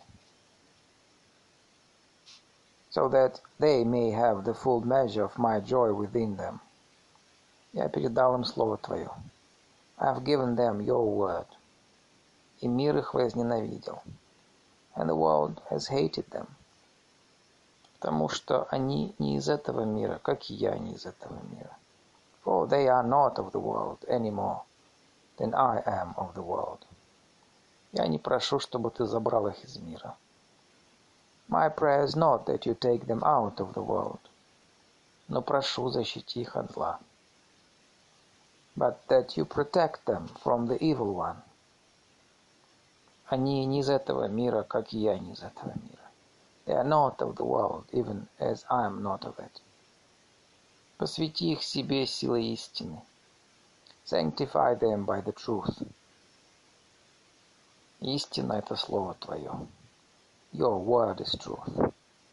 So that they may have the full measure of my joy within them. Я передал им Слово Твое. I have given them your word. И мир их возненавидел. And the world has hated them. Потому что они не из этого мира, как и я не из этого мира. For they are not of the world any more than I am of the world. Я не прошу, чтобы ты забрал их из мира. My prayer is not that you take them out of the world, но прошу, защити их от зла. But that you protect them from the evil one. Они не из этого мира, как и я не из этого мира. They are not of the world, even as I am not of it. Посвяти их себе силой истины. Sanctify them by the truth. Истина — это Слово Твое. Your word is truth.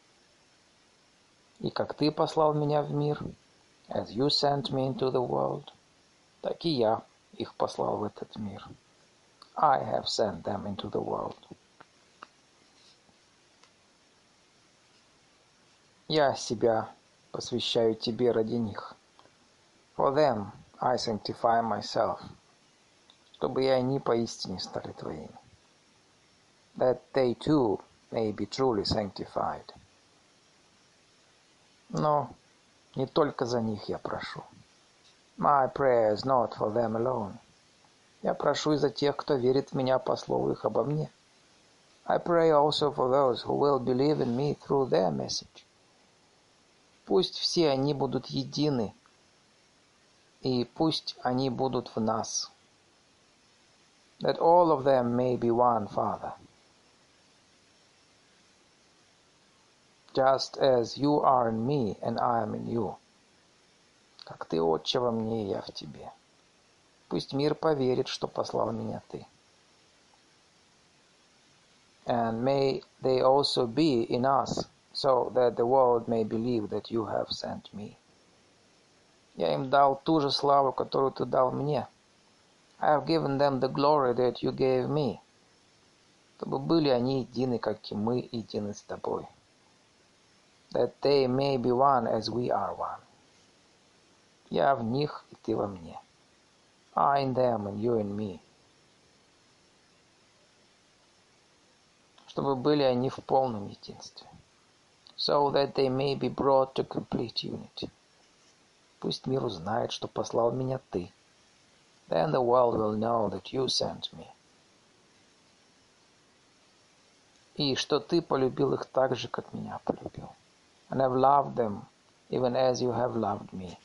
И как Ты послал меня в мир, as you sent me into the world, так и я их послал в этот мир. I have sent them into the world. Я себя посвящаю Тебе ради них. For them I sanctify myself, чтобы и они поистине стали Твоими. That they too may be truly sanctified. Но не только за них я прошу. My prayer is not for them alone. Я прошу и за тех, кто верит в меня по слову их обо мне. I pray also for those who will believe in me through their message. Пусть все они будут едины, и пусть они будут в нас. That all of them may be one, Father. Just as you are in me, and I am in you. Как Ты, Отче, во мне, и я в Тебе. Пусть мир поверит, что послал меня Ты. And may they also be in us, so that the world may believe that you have sent me. Я им дал ту же славу, которую Ты дал мне. I have given them the glory that you gave me. Чтобы были они едины, как и мы едины с Тобой. That they may be one as we are one. Я в них, и Ты во мне. I in them, and you in me. Чтобы были они в полном единстве. So that they may be brought to complete unity. Пусть мир узнает, что послал меня Ты. Then the world will know that you sent me. И что Ты полюбил их так же, как меня полюбил. And have loved them, even as you have loved me.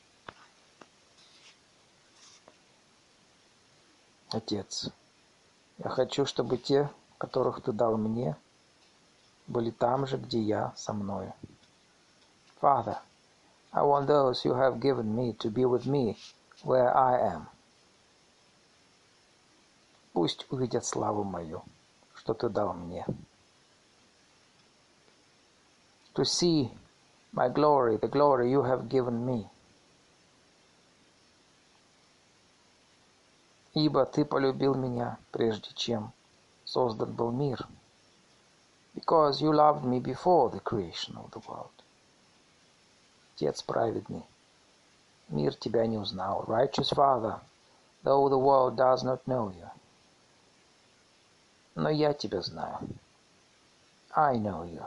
Отец, Я хочу, чтобы те, которых ты дал мне, были там же, где я, со мною. Father, I want those you have given me to be with me where I am. Пусть увидят славу мою, что ты дал мне. To see my glory, the glory you have given me. Ибо ты полюбил меня, прежде чем создан был мир. Because you loved me before the creation of the world. Отец праведный, мир тебя не узнал. Righteous Father, though the world does not know you. Но я тебя знаю. I know you.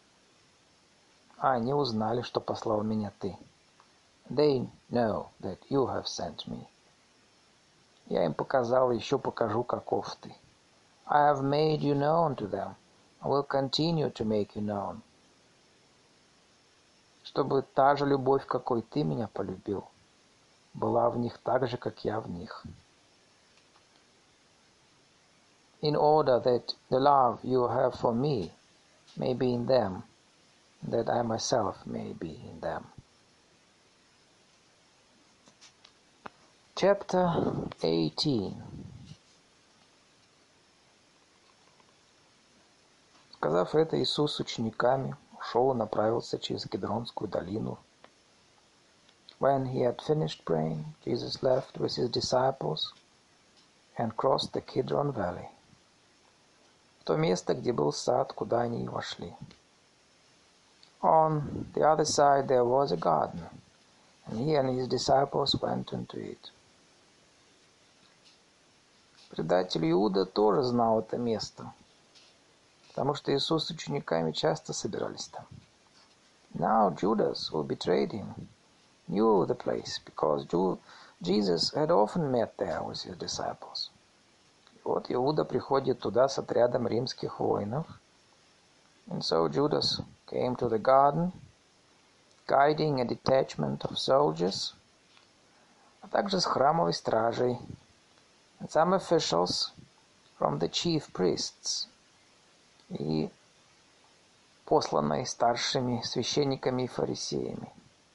Они узнали, что послал меня ты. They know that you have sent me. Я им показал, еще покажу, каков ты. I have made you known to them. I will continue to make you known. Чтобы та же любовь, какой ты меня полюбил, была в них так же, как я в них. In order that the love you have for me may be in them, that I myself may be in them. Chapter eighteen. Сказав это, Иисус с учениками ушел и направился через Кедронскую долину. When he had finished praying, Jesus left with his disciples and crossed the Kidron Valley. В то место, где был сад, куда они и вошли. On the other side there was a garden, and he and his disciples went into it. Предатель Иуда тоже знал это место, потому что Иисус с учениками часто собирались там. Now Judas, who betrayed him, knew the place, because Jesus had often met there with his disciples. И вот Иуда приходит туда с отрядом римских воинов. And so Judas came to the garden, guiding a detachment of soldiers, а также с храмовой стражей, and some officials from the chief priests, и посланной старшими священниками и фарисеями,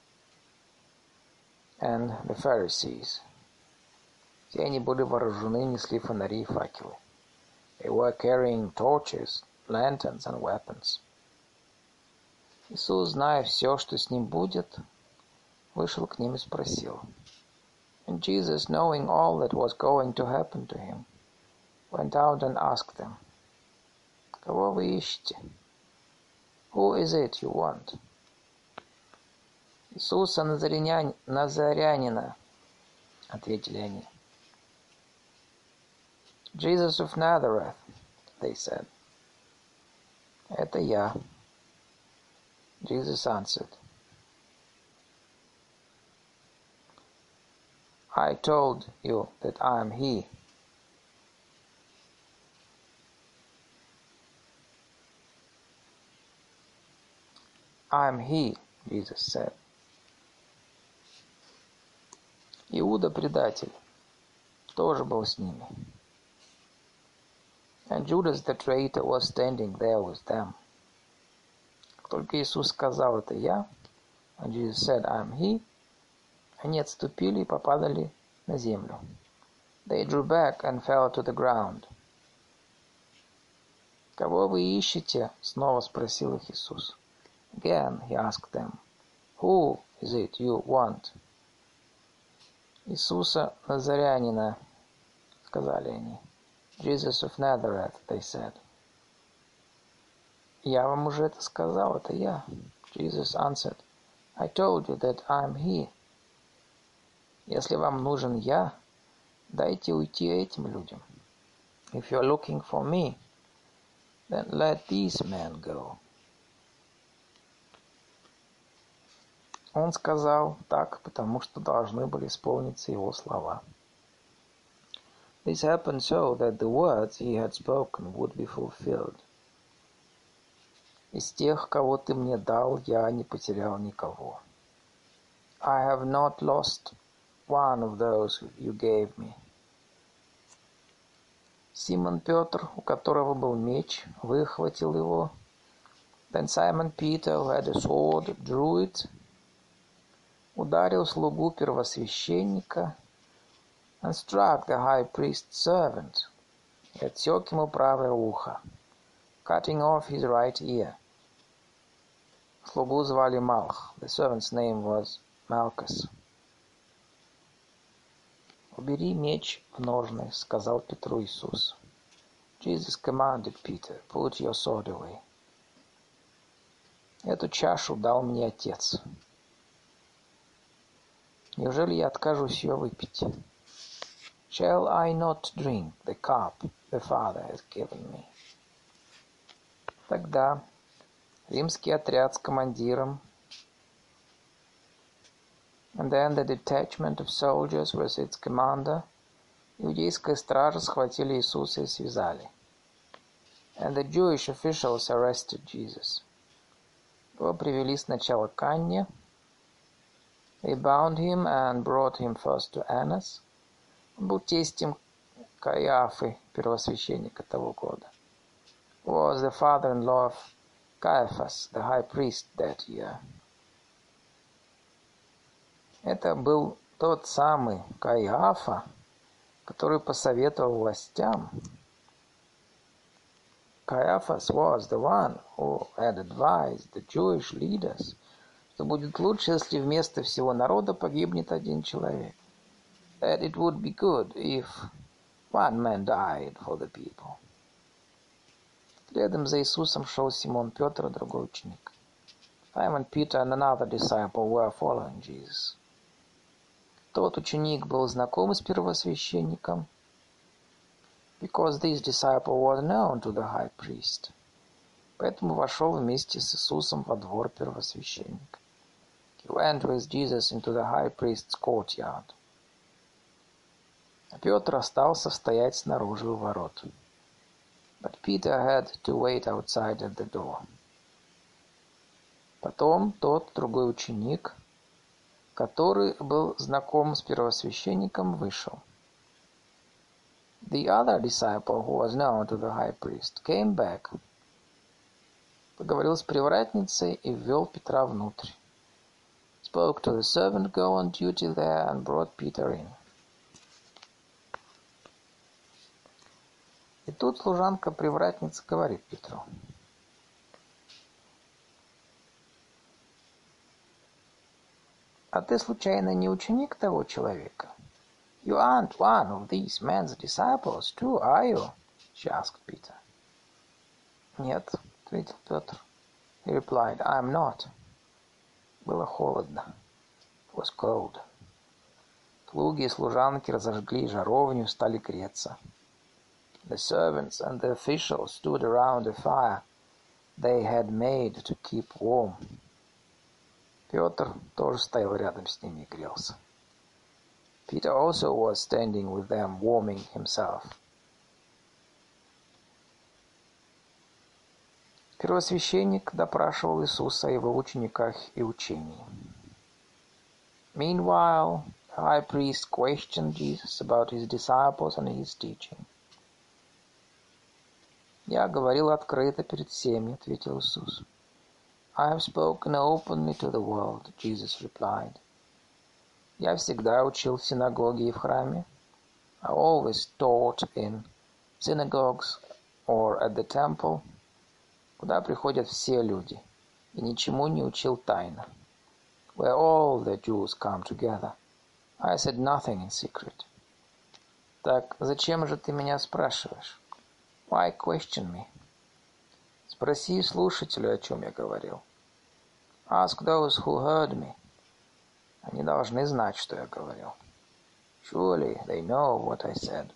and the Pharisees. Все они были вооружены, несли фонари и факелы. They were carrying torches, lanterns and weapons. Иисус, зная все, что с ним будет, вышел к ним и спросил. And Jesus, knowing all that was going to happen to him, went out and asked them, «Кого вы ищете? Who is it you want?» «Иисуса Назаряня... Назарянина», — ответили они. «Jesus of Nazareth», — they said. «Это я». Jesus answered, I told you that I am he. I am he, Jesus said. Иуда, предатель, тоже был с ними. And Judas the traitor was standing there with them. Как только Иисус сказал это я, and Jesus said, I am he, они отступили и попадали на землю. They drew back and fell to the ground. «Кого вы ищете?» — снова спросил их Иисус. Again he asked them, Who is it you want? «Иисуса Назарянина», — сказали они. Jesus of Nazareth, they said. «Я вам уже это сказал, это я». Jesus answered, I told you that I am he. Если вам нужен я, дайте уйти этим людям. If you are looking for me, then let these men go. Он сказал так, потому что должны были исполниться его слова. This happened so that the words he had spoken would be fulfilled. Из тех, кого ты мне дал, я не потерял никого. I have not lost one of those you gave me. Симон Петр, у которого был меч, выхватил его. Then Simon Peter, who had a sword, drew it, ударил слугу первосвященника, and struck the high priest's servant, и отсек ему правое ухо, cutting off his right ear. Слугу звали Малх. The servant's name was Malchus. «Убери меч в ножны», — сказал Петру Иисус. Jesus commanded Peter, put your sword away. Эту чашу дал мне Отец. Неужели я откажусь ее выпить? Shall I not drink the cup the Father has given me? Тогда римский отряд с командиром, and then the detachment of soldiers with its commander, иудейская стража схватили Иисуса и связали. And the Jewish officials arrested Jesus. Его привели сначала к Анне. They bound him and brought him first to Annas. Он был тестем Каиафы, первосвященника того года. Was the father-in-law of Caiaphas, the high priest that year. Это был тот самый Каиафа, который посоветовал властям. Caiaphas was the one who had advised the Jewish leaders, что будет лучше, если вместо всего народа погибнет один человек. That it would be good if one man died for the people. Следом за Иисусом шел Симон Петр и другой ученик. Simon Peter and another disciple were following Jesus. Тот ученик был знаком с первосвященником, because this disciple was known to the high priest. Поэтому вошел вместе с Иисусом во двор первосвященника. He went with Jesus into the high priest's courtyard. А Петр остался стоять снаружи у ворот. But Peter had to wait outside at the door. Потом тот другой ученик, который был знаком с первосвященником, вышел. The other disciple, who was known to the high priest, came back. Поговорил с привратницей и ввел Петра внутрь. Spoke to the servant girl on duty there and brought Peter in. И тут служанка-привратница говорит Петру. А ты, случайно, не ученик того человека? You aren't one of these men's disciples, too, are you? She asked Peter. Нет, ответил Петр. He replied, I am not. Было холодно. It was cold. Слуги и служанки разожгли жаровню, стали греться. The servants and the officials stood around a fire they had made to keep warm. Петр тоже стоял рядом с ними и грелся. Peter also was standing with them, warming himself. Первосвященник допрашивал Иисуса о его учениках и учении. Meanwhile, the high priest questioned Jesus about his disciples and his teaching. «Я говорил открыто перед всеми», — ответил Иисус. «I have spoken openly to the world», — Jesus replied. «Я всегда учил в синагоге и в храме». I always taught in synagogues or at the temple, куда приходят все люди, и ничему не учил тайно. Where all the Jews come together. I said nothing in secret. Так зачем же ты меня спрашиваешь? Why question me? Спроси слушателю, о чем я говорил. Ask those who heard me. Они должны знать, что я говорил. Surely they know what I said.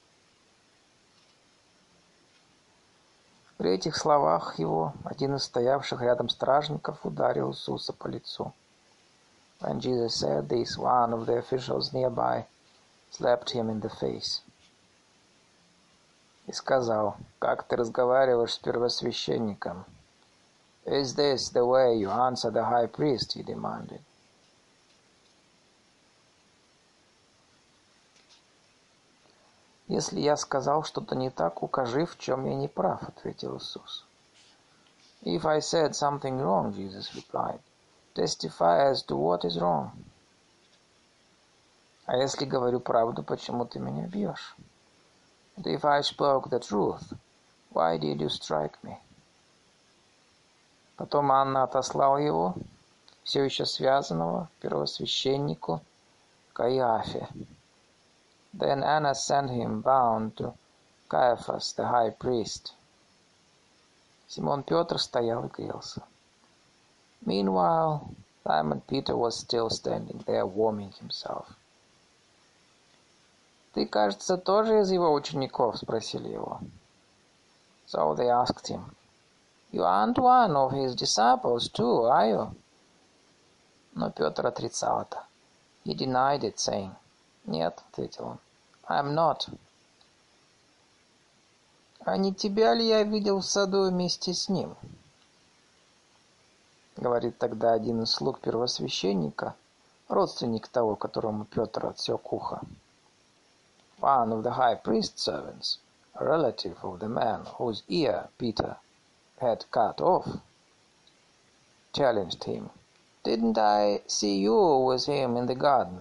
При этих словах его один из стоявших рядом стражников ударил Иисуса по лицу. When Jesus said this, one of the officials nearby slapped him in the face. И сказал, как ты разговариваешь с первосвященником? Is this the way you answer the high priest? He demanded. «Если я сказал что-то не так, укажи, в чем я не прав», — ответил Иисус. «If I said something wrong», Jesus replied, «testify as to what is wrong». «А если говорю правду, почему ты меня бьешь?» «And if I spoke the truth, why did you strike me?» Потом Анна отослал его, все еще связанного, первосвященнику Каиафе. Then Anna sent him bound to Caiaphas, the high priest. Симон Петр стоял и грелся. Meanwhile, Simon Peter was still standing there, warming himself. «Ты, кажется, тоже из его учеников?» — спросили его. So they asked him, «You aren't one of his disciples too, are you?» Но Петр отрицал это. He denied it, saying, «Нет», — ответил он, «I'm not». «А не тебя ли я видел в саду вместе с ним?» Говорит тогда один из слуг первосвященника, родственник того, которому Петр отсек ухо. One of the high priest's servants, a relative of the man whose ear Peter had cut off, challenged him. «Didn't I see you with him in the garden?»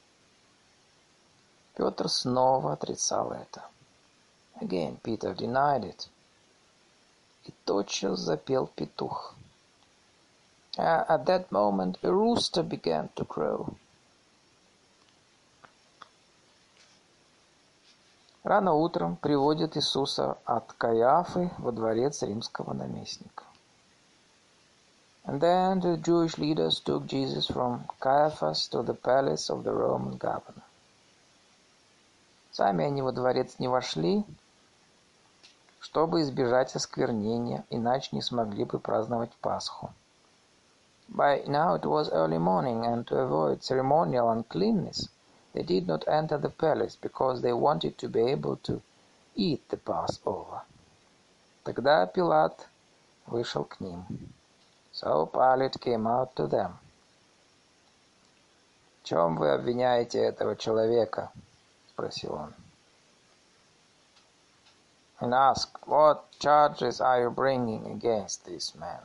Петр снова отрицал это. Again Peter denied it. И тотчас запел петух. Uh, at that moment a rooster began to crow. Рано утром приводят Иисуса от Каиафы во дворец римского наместника. And then the Jewish leaders took Jesus from Caiaphas to the palace of the Roman governor. Сами они во дворец не вошли, чтобы избежать осквернения, иначе не смогли бы праздновать Пасху. By now it was early morning, and to avoid ceremonial uncleanness, they did not enter the palace, because they wanted to be able to eat the Passover. Тогда Пилат вышел к ним. So Pilate came out to them. «В чем вы обвиняете этого человека?» — спросил он. And asked, «What charges are you bringing against this man?»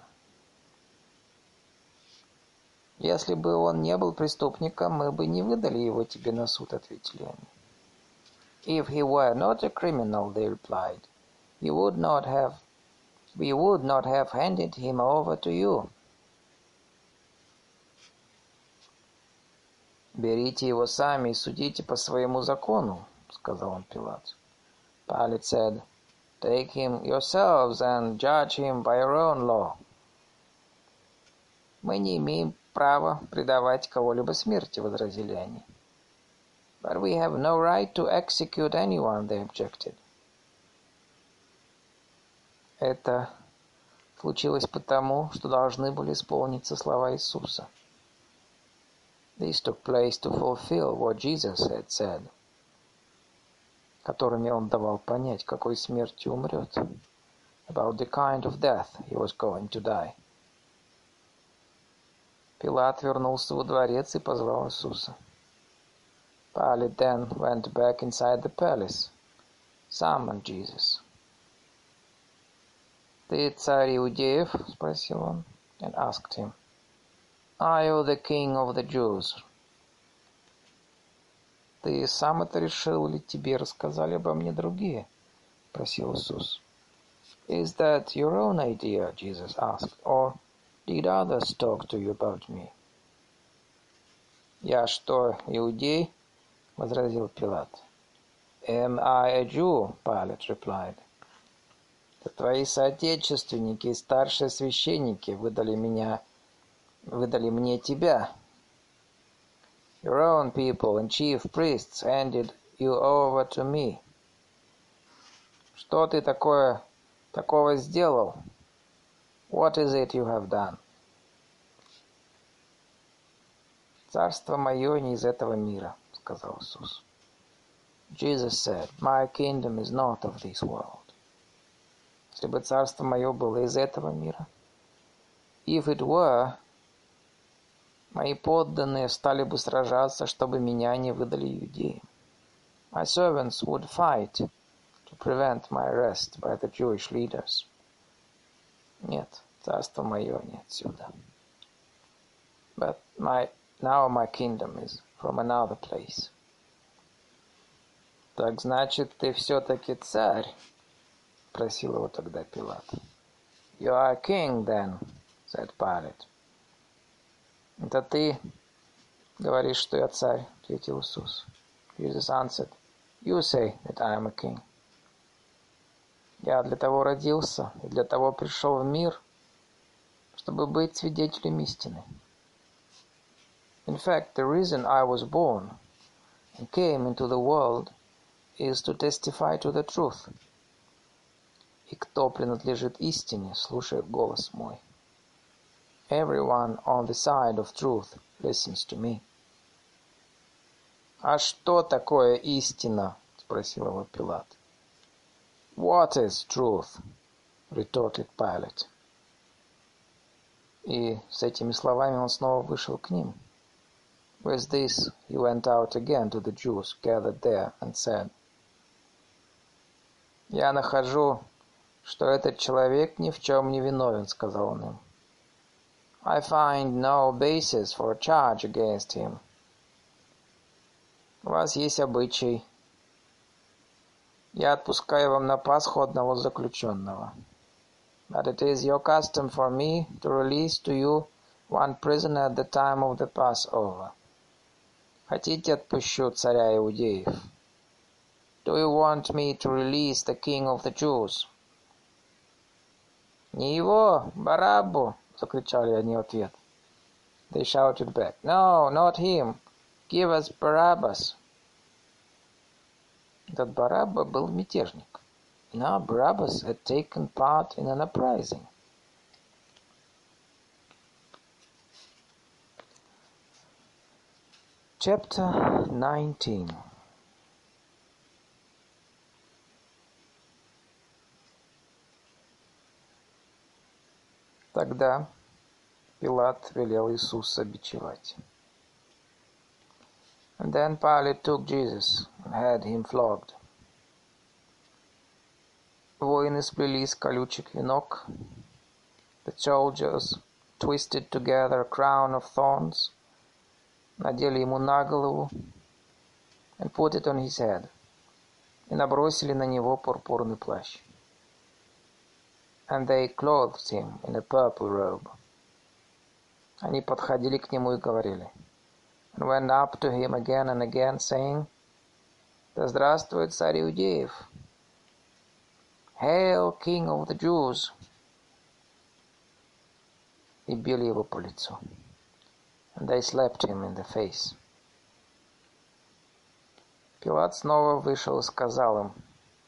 «Если бы он не был преступником, мы бы не выдали его тебе на суд», — ответили они. «If he were not a criminal», — they replied, «he would not have, we would not have handed him over to you». «Берите его сами и судите по своему закону», — сказал он Пилат. Pilate said, «Take him yourselves and judge him by your own law». «Мы не имеем права предавать кого-либо смерти», — возразили они. «But we have no right to execute anyone», — they objected. Это случилось потому, что должны были исполниться слова Иисуса. This took place to fulfill what Jesus had said, которыми он давал понять, какой смертью умрет, about the kind of death he was going to die. Пилат вернулся во дворец и позвал Иисуса. Pilate then went back inside the palace, summoned Jesus. «Ты царь иудеев?» — спросил он, and asked him, «Are you the king of the Jews?» «Ты сам это решил или тебе рассказали обо мне другие?» — спросил Иисус. «Is that your own idea?» — Jesus asked, «or did others talk to you about me?» «Я что, иудей?» — возразил Пилат. «Am I a Jew?» — Pilate replied. «Твои соотечественники и старшие священники выдали меня, выдали мне тебя. Your own people and chief priests handed you over to me. Что ты такое, такого сделал? What is it you have done?» «Царство мое не из этого мира», — сказал Иисус. Jesus said, «My kingdom is not of this world». Если бы царство мое было из этого мира, if it were, мои подданные стали бы сражаться, чтобы меня не выдали иудеям. My servants would fight to prevent my arrest by the Jewish leaders. Нет, царство мое не отсюда. But my, now my kingdom is from another place. Так значит, ты все-таки царь? Спросил его тогда Пилат. You are a king then, said Pilate. Это ты говоришь, что я царь, ответил Иисус. Jesus answered, you say that I am a king. Я для того родился и для того пришел в мир, чтобы быть свидетелем истины. In fact, the reason I was born and came into the world is to testify to the truth. И кто принадлежит истине, слушает голос мой. Everyone on the side of truth listens to me. А что такое истина? Спросил его Пилат. What is truth? Retorted Pilate. И с этими словами он снова вышел к ним. With this he went out again to the Jews gathered there and said, «Я нахожу, что этот человек ни в чем не виновен», — сказал он им. «I find no basis for a charge against him». У вас есть обычай. Я отпускаю вам на Пасху одного заключенного. But it is your custom for me to release to you one prisoner at the time of the Passover. Хотите, отпущу царя иудеев? Do you want me to release the king of the Jews? Не его, Бараббу, закричали они в ответ. They shouted back, no, not him. Give us Barabbas. Этот Барабба был мятежник. Now Barabbas had taken part in an uprising. Chapter nineteen. Тогда Пилат велел Иисуса бичевать. And then Pilate took Jesus and had him flogged. Воины сплели из колючек венок. The soldiers twisted together a crown of thorns, надели ему на голову, and put it on his head, и набросили на него пурпурный плащ. And they clothed him in a purple robe. Они подходили к нему и говорили, and went up to him again and again, saying, Да здравствует царь иудеев! Hail, King of the Jews! И били его по лицу. And they slapped him in the face. Пилат снова вышел и сказал им.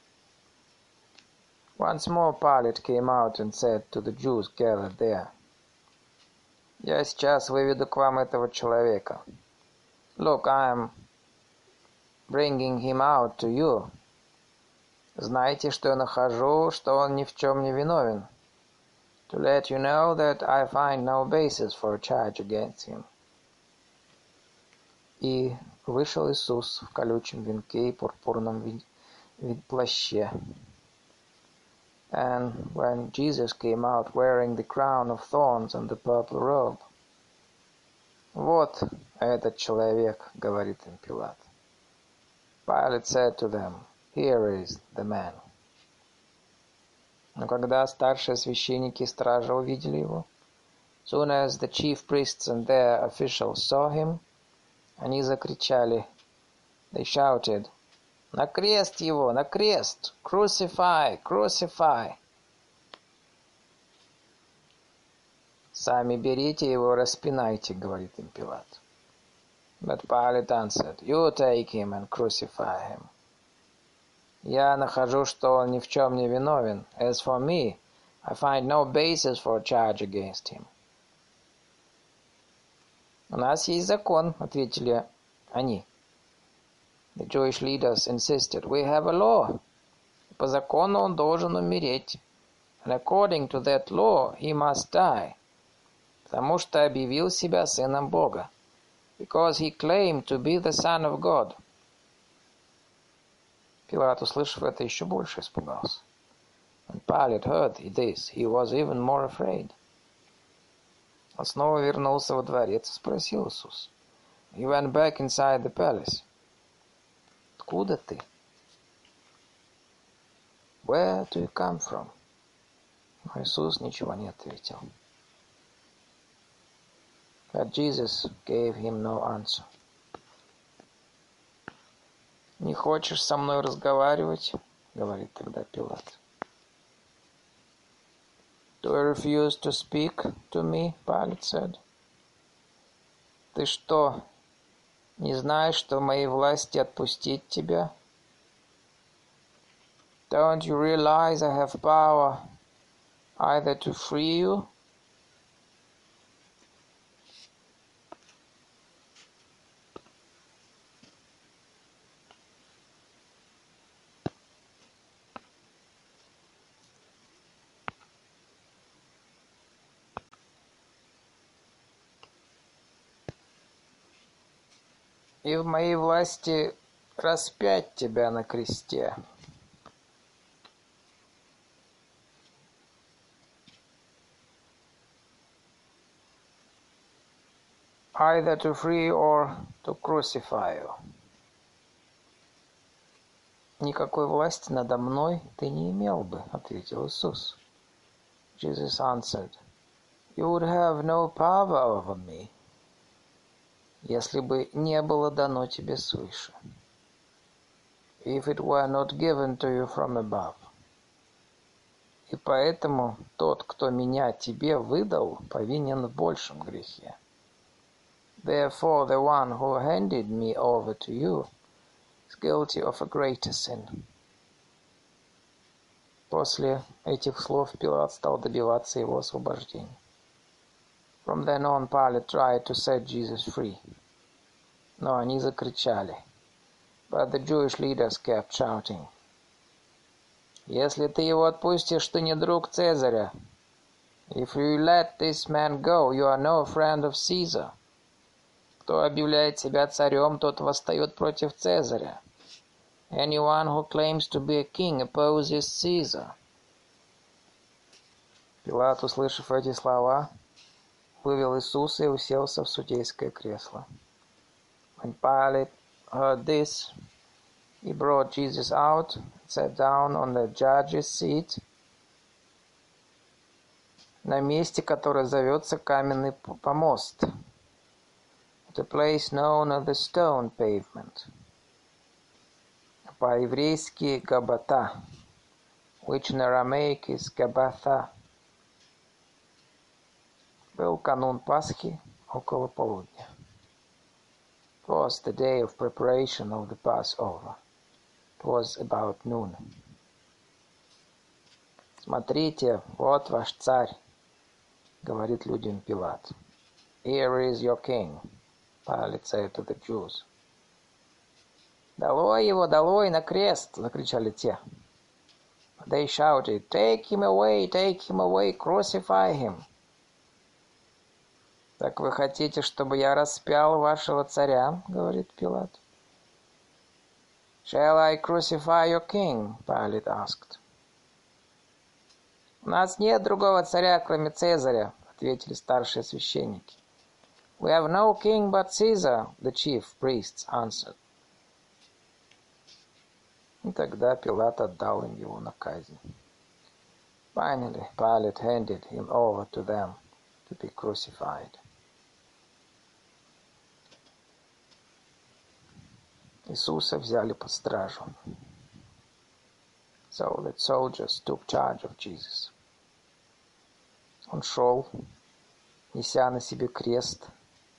Once more Pilate came out and said to the Jews gathered there, Я сейчас выведу к вам этого человека. Look, I am bringing him out to you. Знаете, что я нахожу, что он ни в чем не виновен. To let you know that I find no basis for a charge against him. И вышел Иисус в колючем венке и пурпурном ви- ви- плаще. And when Jesus came out wearing the crown of thorns and the purple robe, «Вот этот человек», — говорит им Пилат. Pilate said to them, «Here is the man». Но когда старшие священники и стража увидели его, soon as the chief priests and their officials saw him, они закричали, they shouted, «На крест его! На крест! Crucify! Crucify!» «Сами берите его, распинайте», — говорит им Пилат. But Pilate answered, «You take him and crucify him». «Я нахожу, что он ни в чем не виновен. As for me, I find no basis for a charge against him». «У нас есть закон», — ответили они. The Jewish leaders insisted, we have a law. По закону он должен умереть. And according to that law, he must die. Потому что объявил себя сыном Бога. Because he claimed to be the son of God. Пилат, услышав это, еще больше испугался. When Pilate heard this, he was even more afraid. Он снова вернулся во дворец и спросил Иисус. He went back inside the palace. Откуда ты? Where do you come from? Но Иисус ничего не ответил. But Jesus gave him no answer. Не хочешь со мной разговаривать? Говорит тогда Пилат. Do you refuse to speak to me? Pilate said. Ты что, не знаешь, что в моей власти отпустить тебя? Don't you realize I have power either to free you и в моей власти распять тебя на кресте? Either to free or to crucify you. Никакой власти надо мной ты не имел бы, ответил Иисус. Jesus answered, You would have no power over me, если бы не было дано тебе свыше. If it were not given to you from above. И поэтому тот, кто меня тебе выдал, повинен в большем грехе. Therefore the one who handed me over to you is guilty of a greater sin. После этих слов Пилат стал добиваться его освобождения. From then on, Pilate tried to set Jesus free. Но они закричали. But the Jewish leaders kept shouting. Если ты его отпустишь, ты не друг Цезаря. If you let this man go, you are no friend of Caesar. Кто объявляет себя царем, тот восстает против Цезаря. Anyone who claims to be a king opposes Caesar. Пилат, услышав эти слова, вывел Иисуса и уселся в судейское кресло. When Pilate heard this, he brought Jesus out and sat down on the judge's seat, на месте, которое зовется Каменный помост, the place known as the stone pavement, по-еврейски Габбата, which in Aramaic is Gabbatha. Был канун Пасхи около полудня. It was the day of preparation of the Passover. It was about noon. Смотрите, вот ваш царь, говорит людям Пилат. Here is your king, Pilate said to the Jews. Долой его, долой на крест, закричали те. They shouted, take him away, take him away, crucify him. Так вы хотите, чтобы я распял вашего царя, говорит Пилат. Shall I crucify your king? Pilate asked. У нас нет другого царя, кроме Цезаря, ответили старшие священники. We have no king but Caesar, the chief priests answered. И тогда Пилат отдал им его на казнь. Finally, Pilate handed him over to them to be crucified. Иисуса взяли под стражу. So the soldiers took charge of Jesus. Он шел, неся на себе крест,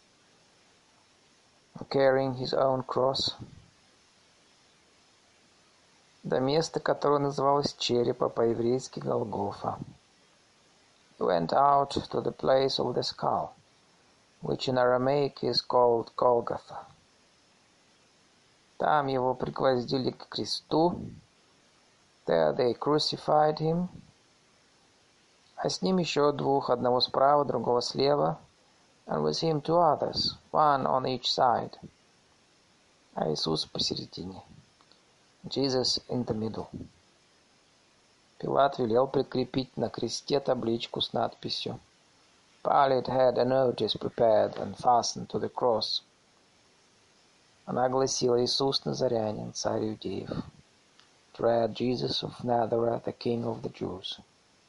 carrying his own cross, до места, которое называлось черепа, по-еврейски Голгофа. He went out to the place of the skull, which in Aramaic is called Golgotha. Там его пригвоздили к кресту. There they crucified him. А с ним еще двух, одного справа, другого слева. And with him two others, one on each side. А Иисус посередине. Jesus in the middle. Пилат велел прикрепить на кресте табличку с надписью. Pilate had a notice prepared and fastened to the cross. Она гласила: Иисус Назарянин, царь иудеев. It read, Jesus of Nazareth, the King of the Jews.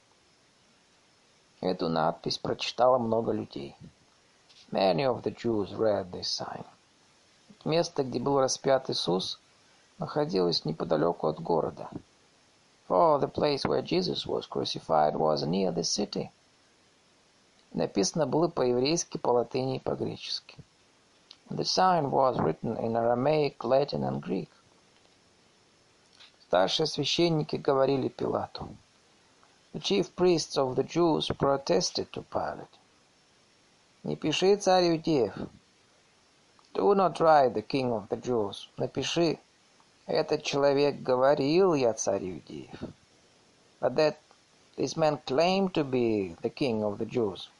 Эту надпись прочитало много людей. Many of the Jews read this sign. Место, где был распят Иисус, находилось неподалеку от города. For the place where Jesus was crucified was near the city. Написано было по-еврейски, по-латыни и по-гречески. The sign was written in Aramaic, Latin and Greek. Старшие священники говорили Пилату. The chief priests of the Jews protested to Pilate. Не пиши, царь иудеев. Do not write the king of the Jews. Напиши, этот человек говорил, я царь иудеев. But that this man claimed to be the king of the Jews.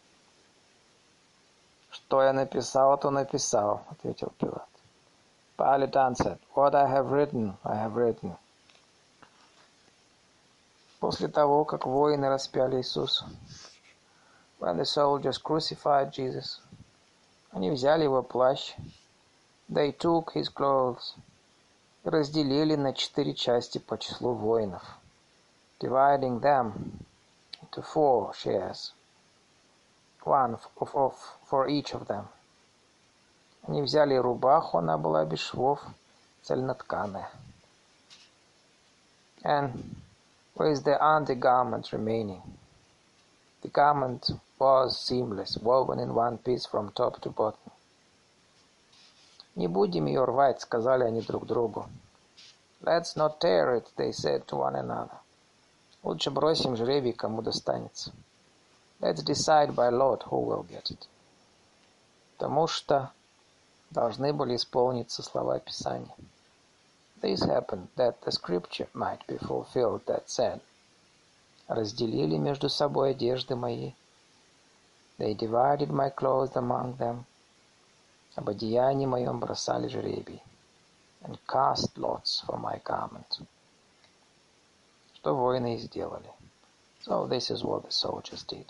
Что я написал, то написал, ответил Пилат. Pilate answered, What I have written, I have written. После того, как воины распяли Иисуса, when the soldiers crucified Jesus, они взяли его плащ, they took his clothes, и разделили на четыре части по числу воинов, dividing them into four shares, one of, of, for each of them. Они взяли рубаху, она была без швов, цельнотканая. And with the undergarment remaining, the garment was seamless, woven in one piece from top to bottom. Не будем ее рвать, сказали они друг другу. Let's not tear it, they said to one another. Лучше бросим жребий, кому достанется. Let's decide by lot who will get it. Потому что должны были исполниться слова Писания. This happened that the scripture might be fulfilled that said, разделили между собой одежды мои. They divided my clothes among them. Об одеянии моем бросали жребий. And cast lots for my garment. Что воины и сделали. So this is what the soldiers did.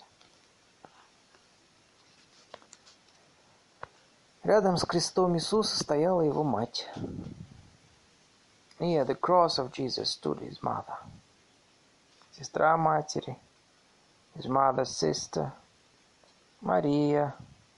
Рядом с крестом Иисуса стояла его мать. Near the cross of Jesus stood his mother. Сестра матери, his mother's sister, Мария,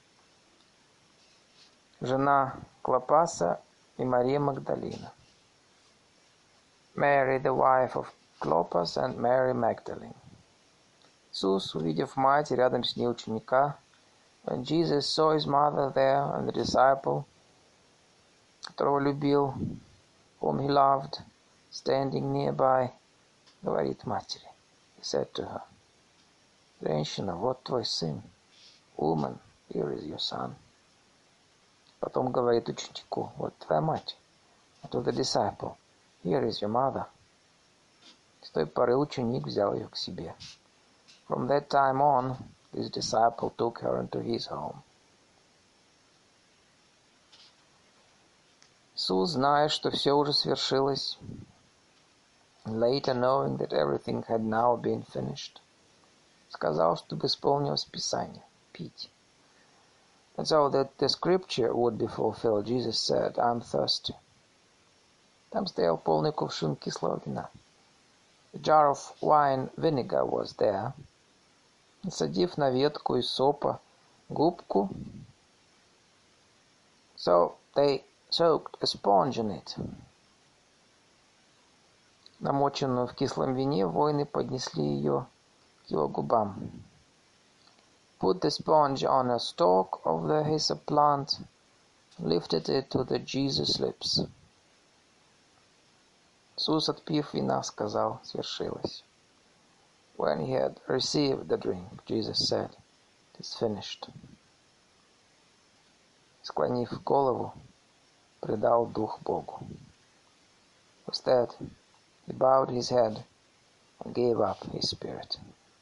жена Клопаса и Мария Магдалина. Mary, the wife of Clopas, and Mary Magdalene. Иисус, увидев мать и рядом с ней ученика, when Jesus saw his mother there and the disciple, которого любил, whom he loved, standing nearby, говорит матери. He said to her, женщина, вот твой сын. Woman, here is your son. Потом говорит ученику, вот твоя мать. And to the disciple, here is your mother. С той поры ученик взял ее к себе. From that time on, this disciple took her into his home. Иисус, зная, что все уже свершилось, later knowing that everything had now been finished, сказал, чтобы исполнилось Писание, пить. And so that the scripture would be fulfilled, Jesus said, I'm thirsty. Там стоял полный кувшин кислого вина. A jar of wine vinegar was there. Насадив на ветку из сопа губку, so they soaked a sponge in it. Намоченную в кислом вине, воины поднесли ее к его губам. Put the sponge on a stalk of the hyssop plant, lifted it to the Jesus' lips. Иисус, отпив вина, сказал, свершилось. When he had received the drink, Jesus said, it is finished. Склонив голову, предал дух Богу. With that, he bowed his head and gave up his spirit.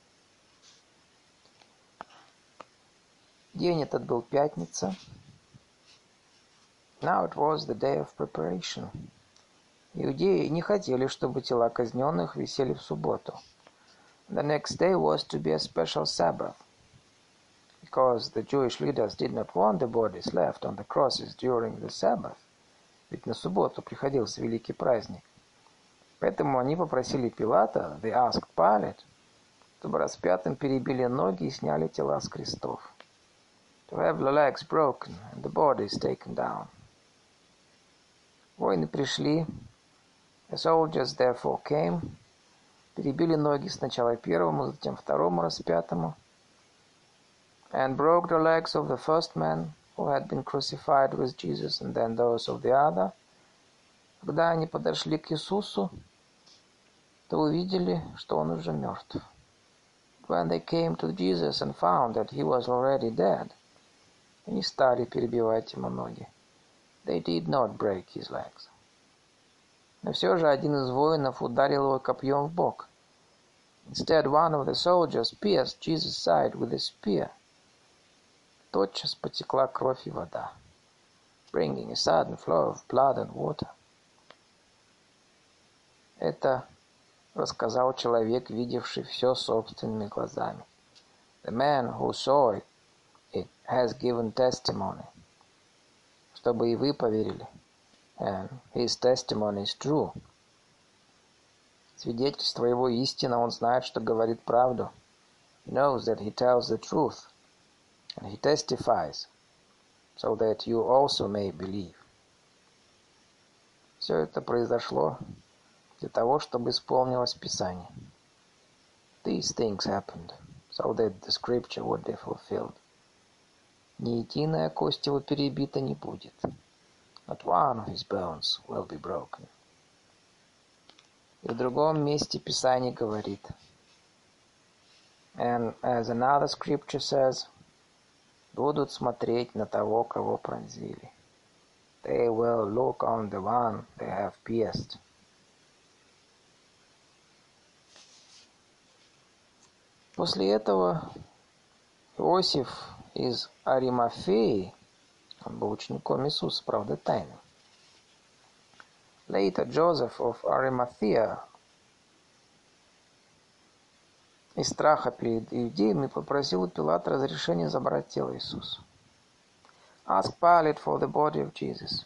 День этот был пятница. Now it was the day of preparation. Иудеи не хотели, чтобы тела казненных висели в субботу. The next day was to be a special Sabbath, because the Jewish leaders did not want the bodies left on the crosses during the Sabbath. Ведь на субботу приходился великий праздник. Поэтому они попросили Пилата, they asked Pilate, чтобы распятым перебили ноги и сняли тела с крестов. To have the legs broken and the bodies taken down. Воины пришли, the soldiers therefore came, перебили ноги сначала первому, затем второму распятому, and broke the legs of the first man who had been crucified with Jesus, and then those of the other. Когда они подошли к Иисусу, то увидели, что он уже мертв. When they came to Jesus and found that he was already dead, они стали перебивать ему ноги. They did not break his legs. Но все же один из воинов ударил его копьем в бок. Instead, one of the soldiers pierced Jesus' side with a spear. Тотчас потекла кровь и вода, bringing a sudden flow of blood and water. Это рассказал человек, видевший все собственными глазами. The man who saw it, it has given testimony. Чтобы и вы поверили. And his testimony is true. Свидетельство его истина, он знает, что говорит правду. He knows that he tells the truth. And he testifies, so that you also may believe. Все это произошло для того, чтобы исполнилось Писание. These things happened, so that the scripture would be fulfilled. Ни единая кость его перебита не будет. Not one of his bones will be broken. И в другом месте Писание говорит. And as another scripture says, будут смотреть на того, кого пронзили. They will look on the one they have pierced. После этого Иосиф из Аримафеи, он был учеником Иисуса, правда, тайным. Later, Joseph of Arimathea, из страха перед иудеями, попросил у Пилата разрешения забрать тело Иисуса. Asked Pilate for the body of Jesus.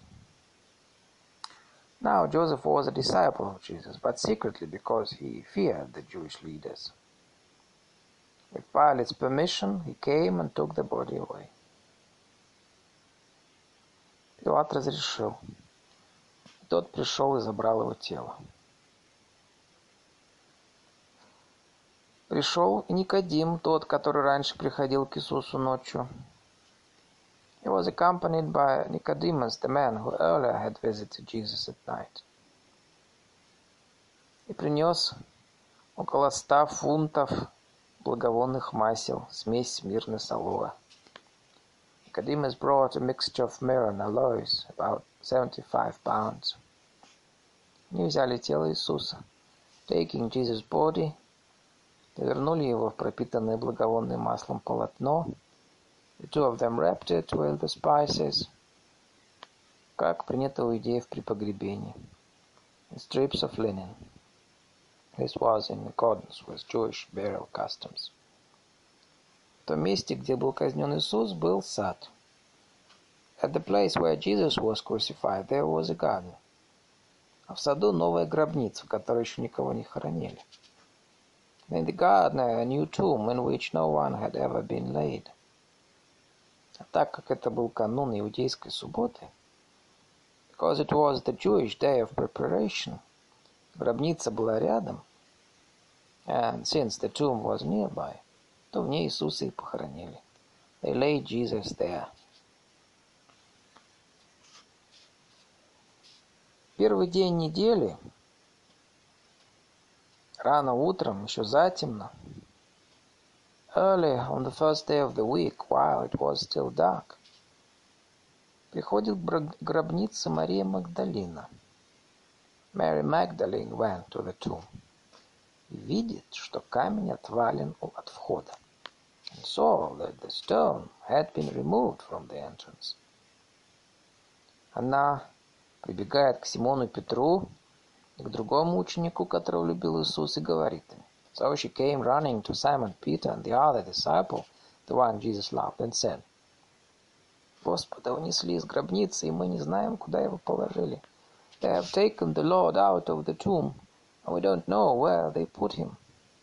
Now Joseph was a disciple of Jesus, but secretly because he feared the Jewish leaders. With Pilate's permission, he came and took the body away. Пилат разрешил. Тот пришел и забрал его тело. Пришел и Никодим, тот, который раньше приходил к Иисусу ночью. He was accompanied by Nicodemus, the man who earlier had visited Jesus at night. И принес около ста фунтов благовонных масел, смесь мирны с алоэ. Nicodemus brought a mixture of myrrh and aloes, about seventy-five pounds. Они взяли тело Иисуса, taking Jesus' body, завернули его в пропитанное благовонным маслом полотно. The two of them wrapped it with the spices, как принято у иудеев при погребении, in strips of linen. This was in accordance with Jewish burial customs. В том месте, где был казнен Иисус, был сад. At the place where Jesus was crucified, there was a garden. А в саду новая гробница, в которой еще никого не хоронили. In the garden, a new tomb in which no one had ever been laid. А так как это был канун иудейской субботы, because it was the Jewish day of preparation, гробница была рядом, and since the tomb was nearby, то в ней Иисуса и похоронили. They laid Jesus there. Первый день недели, рано утром, еще затемно, early on the first day of the week, while it was still dark, приходит к гробнице Мария Магдалина. Mary Magdalene went to the tomb. И видит, что камень отвален от входа. And saw that the stone had been removed from the entrance. Она прибегает к Симону Петру, к другому ученику, которого любил Иисус, и говорит им. So she came running to Simon Peter and the other disciple, the one Jesus loved, and said, Господа унесли из гробницы, и мы не знаем, куда его положили. They have taken the Lord out of the tomb, and we don't know where they put him.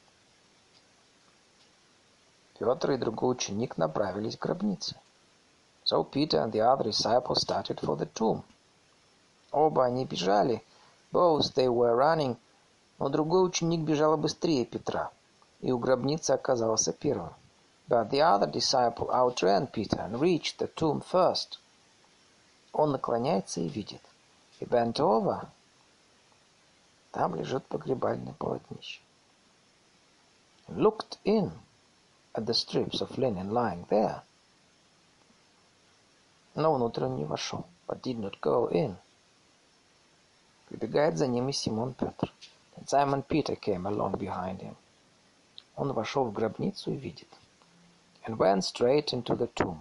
Петр и другой ученик направились к гробнице. So Peter and the other disciple started for the tomb. Оба они бежали, both they were running, но другой ученик бежал быстрее Петра, и у гробницы оказался первым. But the other disciple outran Peter and reached the tomb first. Он наклоняется и видит. He bent over. Там лежит погребальное полотнище. He looked in at the strips of linen lying there. Но внутрь он не вошел, but did not go in. Прибегает за ним и Симон Петр. And Simon Peter came along behind him. Он вошел в гробницу и видит. And went straight into the tomb.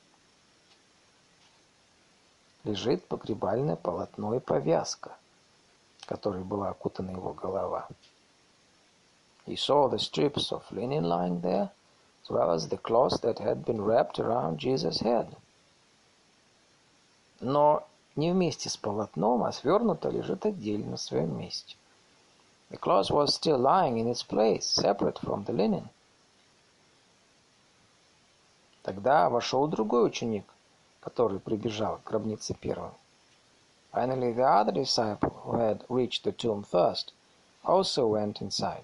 Лежит погребальное полотно и повязка, которой была окутана его голова. He saw the strips of linen lying there, as well as the cloth that had been wrapped around Jesus' head. Но не вместе с полотном, а свернуто лежит отдельно на своем месте. The cloth was still lying in its place, separate from the linen. Тогда вошел другой ученик, который прибежал к гробнице первым. Finally, the other disciple, who had reached the tomb first, also went inside.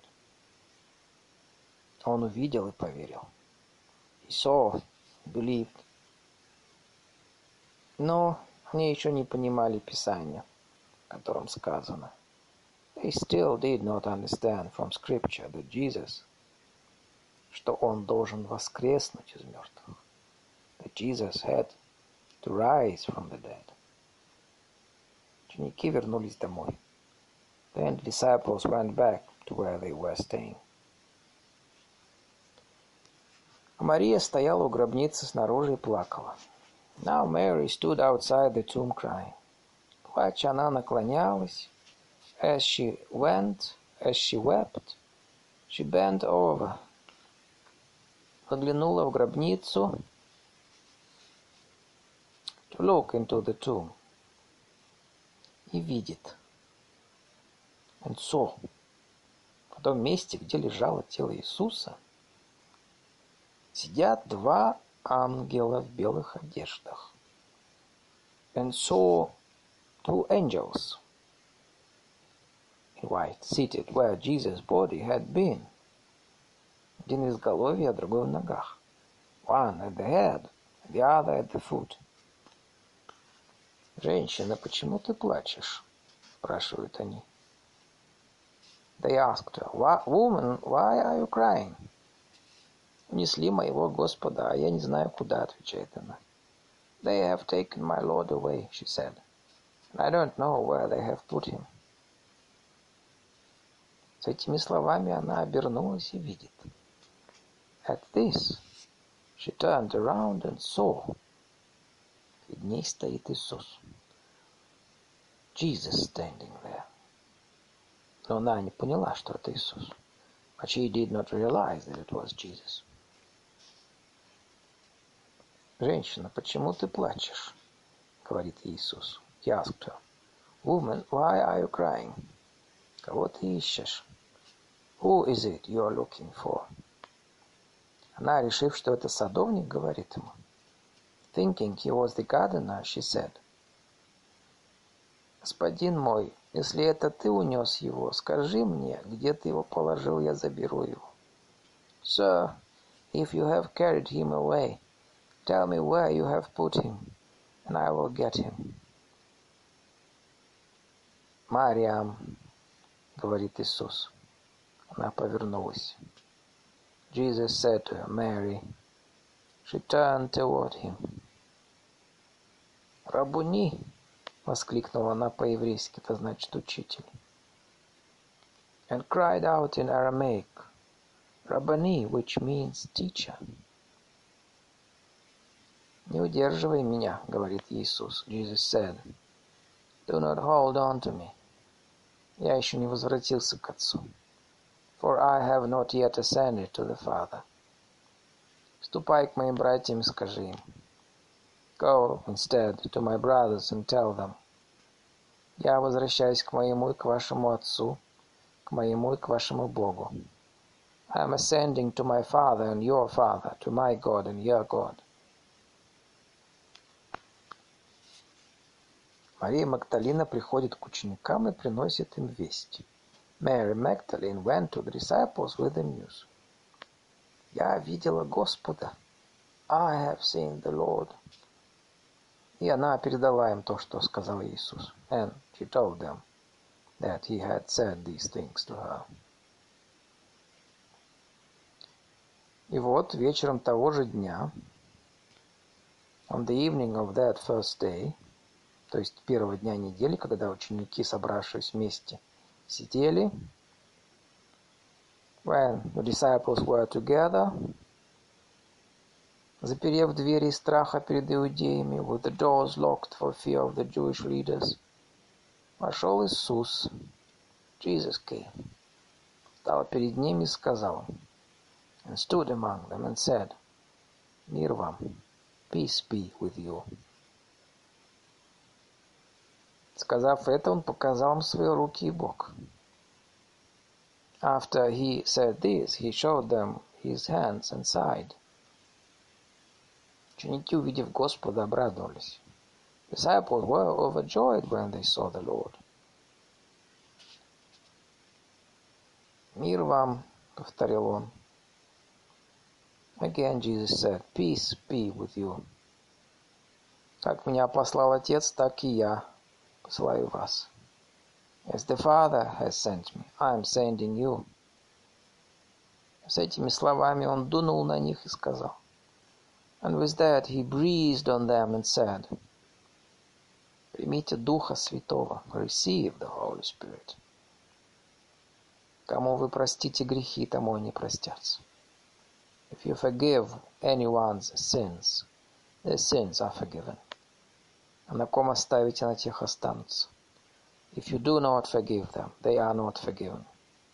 Он увидел и поверил. He saw, believed. Но они еще не понимали Писания, в котором сказано. They still did not understand from Scripture that Jesus, что он должен воскреснуть из мертвых. That Jesus had to rise from the dead. Ученики вернулись домой. Then the disciples went back to where they were staying. А Мария стояла у гробницы снаружи и плакала. Now Mary stood outside the tomb crying. Плача, она наклонялась. As she went, as she wept, she bent over. Заглянула в гробницу. To look into the tomb. И видит. And saw. В том месте, где лежало тело Иисуса, сидят два ангела в белых одеждах. And saw two angels in white, seated where Jesus' body had been. Один в изголовье, а другой в ногах. One at the head, the other at the foot. «Женщина, почему ты плачешь?» – спрашивают они. They asked her, Woman, why are you crying? «Унесли моего Господа, а я не знаю куда», – отвечает она. They have taken my Lord away, she said, and I don't know where they have put him. С этими словами она обернулась и видит. At this, she turned around and saw. Перед ней стоит Иисус. Jesus standing there. Но она не поняла, что это Иисус. But she did not realize that it was Jesus. «Женщина, почему ты плачешь?» — говорит Иисус. He asked her. Woman, why are you crying? Кого ты ищешь? Who is it you are looking for? Она, решив, что это садовник, говорит ему. Thinking he was the gardener, she said. Господин мой, если это ты унес его, скажи мне, где ты его положил, я заберу его. Sir, if you have carried him away, tell me where you have put him, and I will get him. Мариам, говорит Иисус. Она повернулась. Jesus said to her, Mary. She turned toward him. «Рабуни!» — воскликнула она по-еврейски, это значит «учитель». And cried out in Aramaic, Rabbani, which means teacher. «Не удерживай меня», — говорит Иисус. Jesus said, Do not hold on to me. Я еще не возвратился к Отцу. For I have not yet ascended to the Father. Ступай к моим братьям и скажи им. Go instead to my brothers and tell them. Я возвращаюсь к моему и к вашему Отцу, к моему и к вашему Богу. I am ascending to my Father and your Father, to my God and your God. Мария Магдалина приходит к ученикам и приносит им весть. Mary Magdalene went to the disciples with the news. Я видела Господа. I have seen the Lord. И она передала им то, что сказал Иисус. And she told them that he had said these things to her. И вот вечером того же дня, on the evening of that first day, то есть первого дня недели, когда ученики, собравшись вместе, сидели, when the disciples were together, заперев двери из страха перед иудеями, with the doors locked for fear of the Jewish leaders, вошел Иисус, Jesus came, стал перед ними и сказал, and stood among them and said, мир вам, peace be with you. Сказав это, он показал им свои руки и бок. After he said this, he showed them his hands and side. Ученики, увидев Господа, обрадовались. Disciples were overjoyed when they saw the Lord. Мир вам, повторил он. Again Jesus said, peace be with you. Как меня послал Отец, так и я посылаю вас. As the Father has sent me, I am sending you. С этими словами он дунул на них и сказал. And with that he breathed on them and said, примите Духа Святого, receive the Holy Spirit. Кому вы простите грехи, тому они простятся. If you forgive anyone's sins, their sins are forgiven. А на ком оставите, на тех останутся. If you do not forgive them, they are not forgiven.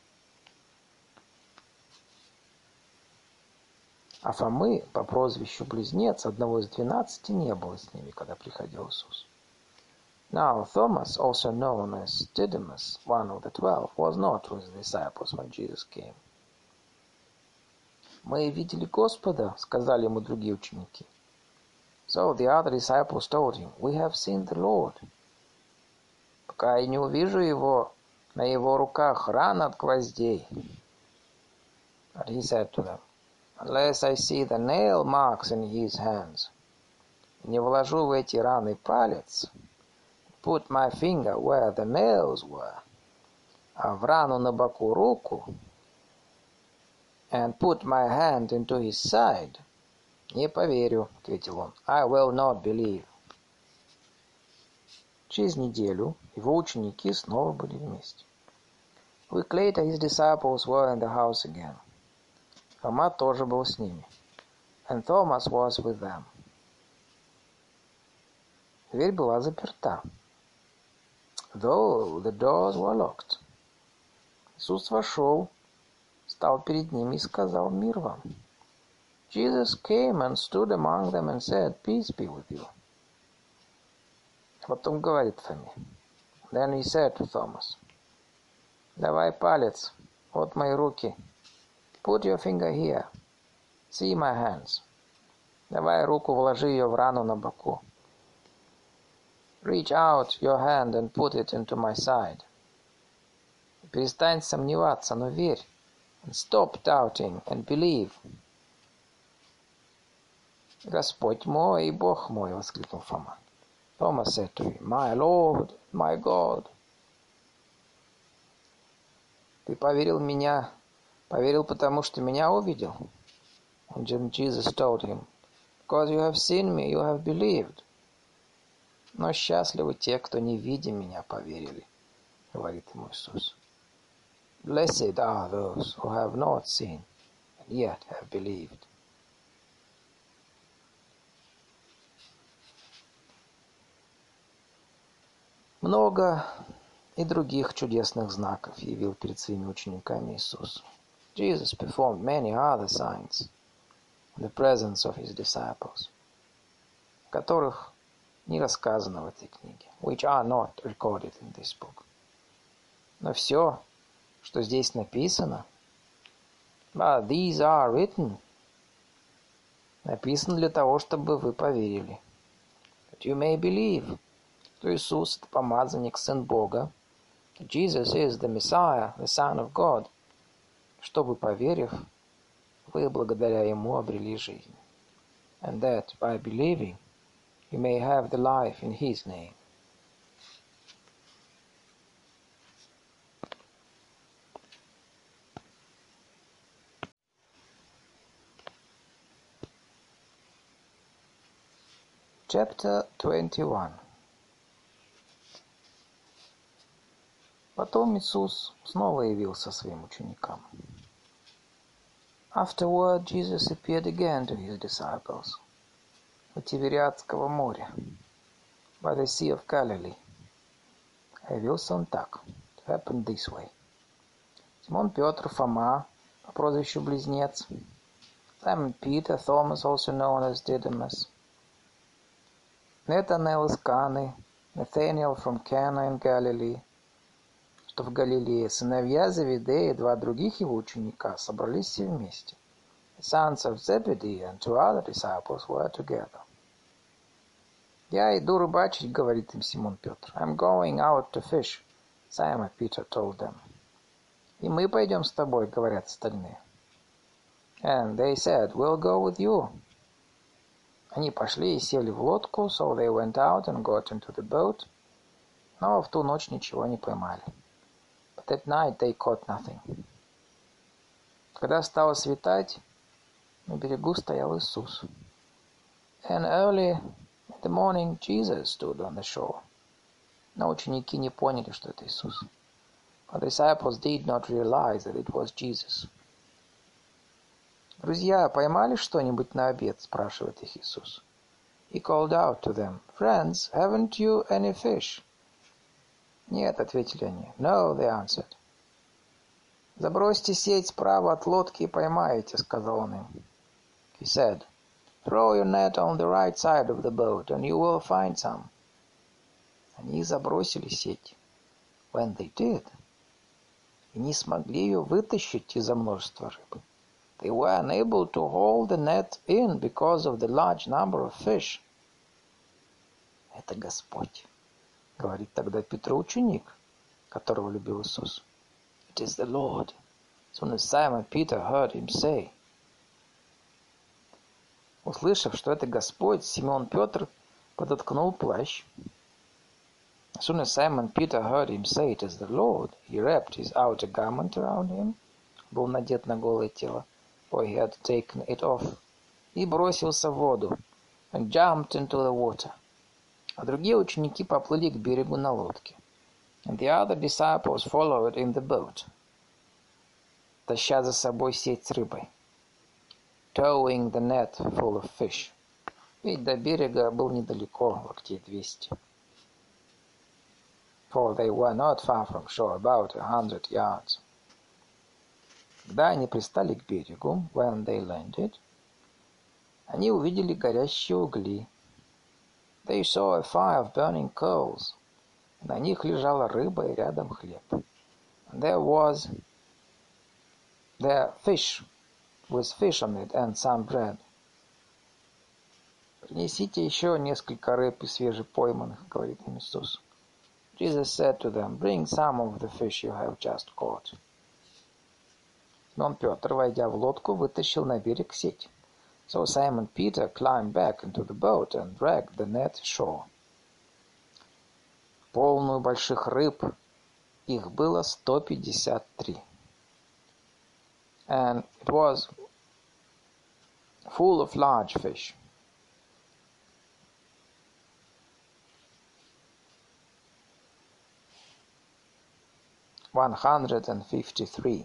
А Фомы по прозвищу Близнец, одного из двенадцати, не было с ними, когда приходил Иисус. Now Thomas, also known as Didymus, one of the twelve, was not with the disciples when Jesus came. Мы видели Господа, сказали ему другие ученики. So the other disciples told him, we have seen the Lord. Пока я не увижу его, на его руках ран от гвоздей. But he said to them, unless I see the nail marks in his hands, не вложу в эти раны палец, put my finger where the nails were, а в рану на боку руку, and put my hand into his side, не поверю, ответил он. I will not believe. Через неделю его ученики снова были вместе. A week later his disciples were in the house again. Фома тоже был с ними. And Thomas was with them. Дверь была заперта. Though the doors were locked. Иисус вошел, стал перед ними и сказал, мир вам. Jesus came and stood among them and said, peace be with you. Потом говорит Фоме. Then he said to Thomas, давай палец, вот мои руки. Put your finger here. See my hands. Давай руку, вложи ее в рану на боку. Reach out your hand and put it into my side. Перестань сомневаться, но верь. And stop doubting and believe. Господь мой и Бог мой, воскликнул Фома. Thomas said to him, my Lord, my God. Ты поверил в меня, поверил, потому что меня увидел. And Jesus told him, because you have seen me, you have believed. Но счастливы те, кто не видя меня, поверили, говорит ему Иисус. Blessed are those who have not seen and yet have believed. Много и других чудесных знаков явил перед своими учениками Иисус. Jesus performed many other signs in the presence of his disciples, которых не рассказано в этой книге, which are not recorded in this book. Но все, что здесь написано, but these are written, написано для того, чтобы вы поверили. That you may believe, что Иисус – это помазанник, Сын Бога, that Jesus is the Messiah, the Son of God, чтобы, поверив, вы благодаря Ему обрели жизнь. And that, by believing, you may have the life in His name. Chapter twenty-one. Потом Иисус снова явился своим ученикам. Afterward, Jesus appeared again to his disciples у Тивериадского моря, by the Sea of Galilee. Явился он так. It happened this way. Симон Петр, Фома, по прозвищу Близнец, Simon Peter, Thomas, also known as Didymus, Nathanael из Каны, Nathanael from Cana in Galilee, что в Галилее, сыновья Завидея и два других его ученика собрались все вместе. The sons of Zebedee and two other disciples were together. «Я иду рыбачить», — говорит им Симон Петр. «I'm going out to fish», Simon Peter told them. «И мы пойдем с тобой», — говорят остальные. And they said, «We'll go with you». Они пошли и сели в лодку, so they went out and got into the boat, но в ту ночь ничего не поймали. But that night they caught nothing. Когда стало светать, на берегу стоял Иисус. And early in the morning Jesus stood on the shore. Но ученики не поняли, что это Иисус. But the disciples did not realize that it was Jesus. «Друзья, поймали что-нибудь на обед?» – спрашивает их Иисус. He called out to them, «Friends, haven't you any fish?» «Нет», – ответили они. «No», they answered. «Забросьте сеть справа от лодки и поймаете», – сказал он им. He said, «Throw your net on the right side of the boat, and you will find some». Они забросили сеть. When they did, и не смогли ее вытащить из-за множества рыбы. They were unable to hold the net in because of the large number of fish. «Это Господь», — говорит тогда Петр, ученик, которого любил Иисус. It is the Lord. As soon as Simon Peter heard him say. Услышав, что это Господь, Симон Петр подоткнул плащ. As soon as Simon Peter heard him say it is the Lord, he wrapped his outer garment around him, был надет на голое тело, for he had taken it off, и бросился в воду, and jumped into the water. А другие ученики поплыли к берегу на лодке. And the other disciples followed in the boat, таща за собой сеть с рыбой, towing the net full of fish. Ведь до берега был недалеко, локтей двести. For they were not far from shore, about a hundred yards. Когда они пристали к берегу, when they landed, они увидели горящие угли. They saw a fire of burning coals. На них лежала рыба и рядом хлеб. And there was there fish with fish on it and some bread. Принесите еще несколько рыб из свежепойманных, говорит им Иисус. Jesus said to them, bring some of the fish you have just caught. Симон Петр, войдя в лодку, вытащил на берег сеть. So Simon Peter climbed back into the boat and dragged the net ashore. Полную больших рыб, их было сто пятьдесят три. And it was full of large fish. one hundred fifty-three.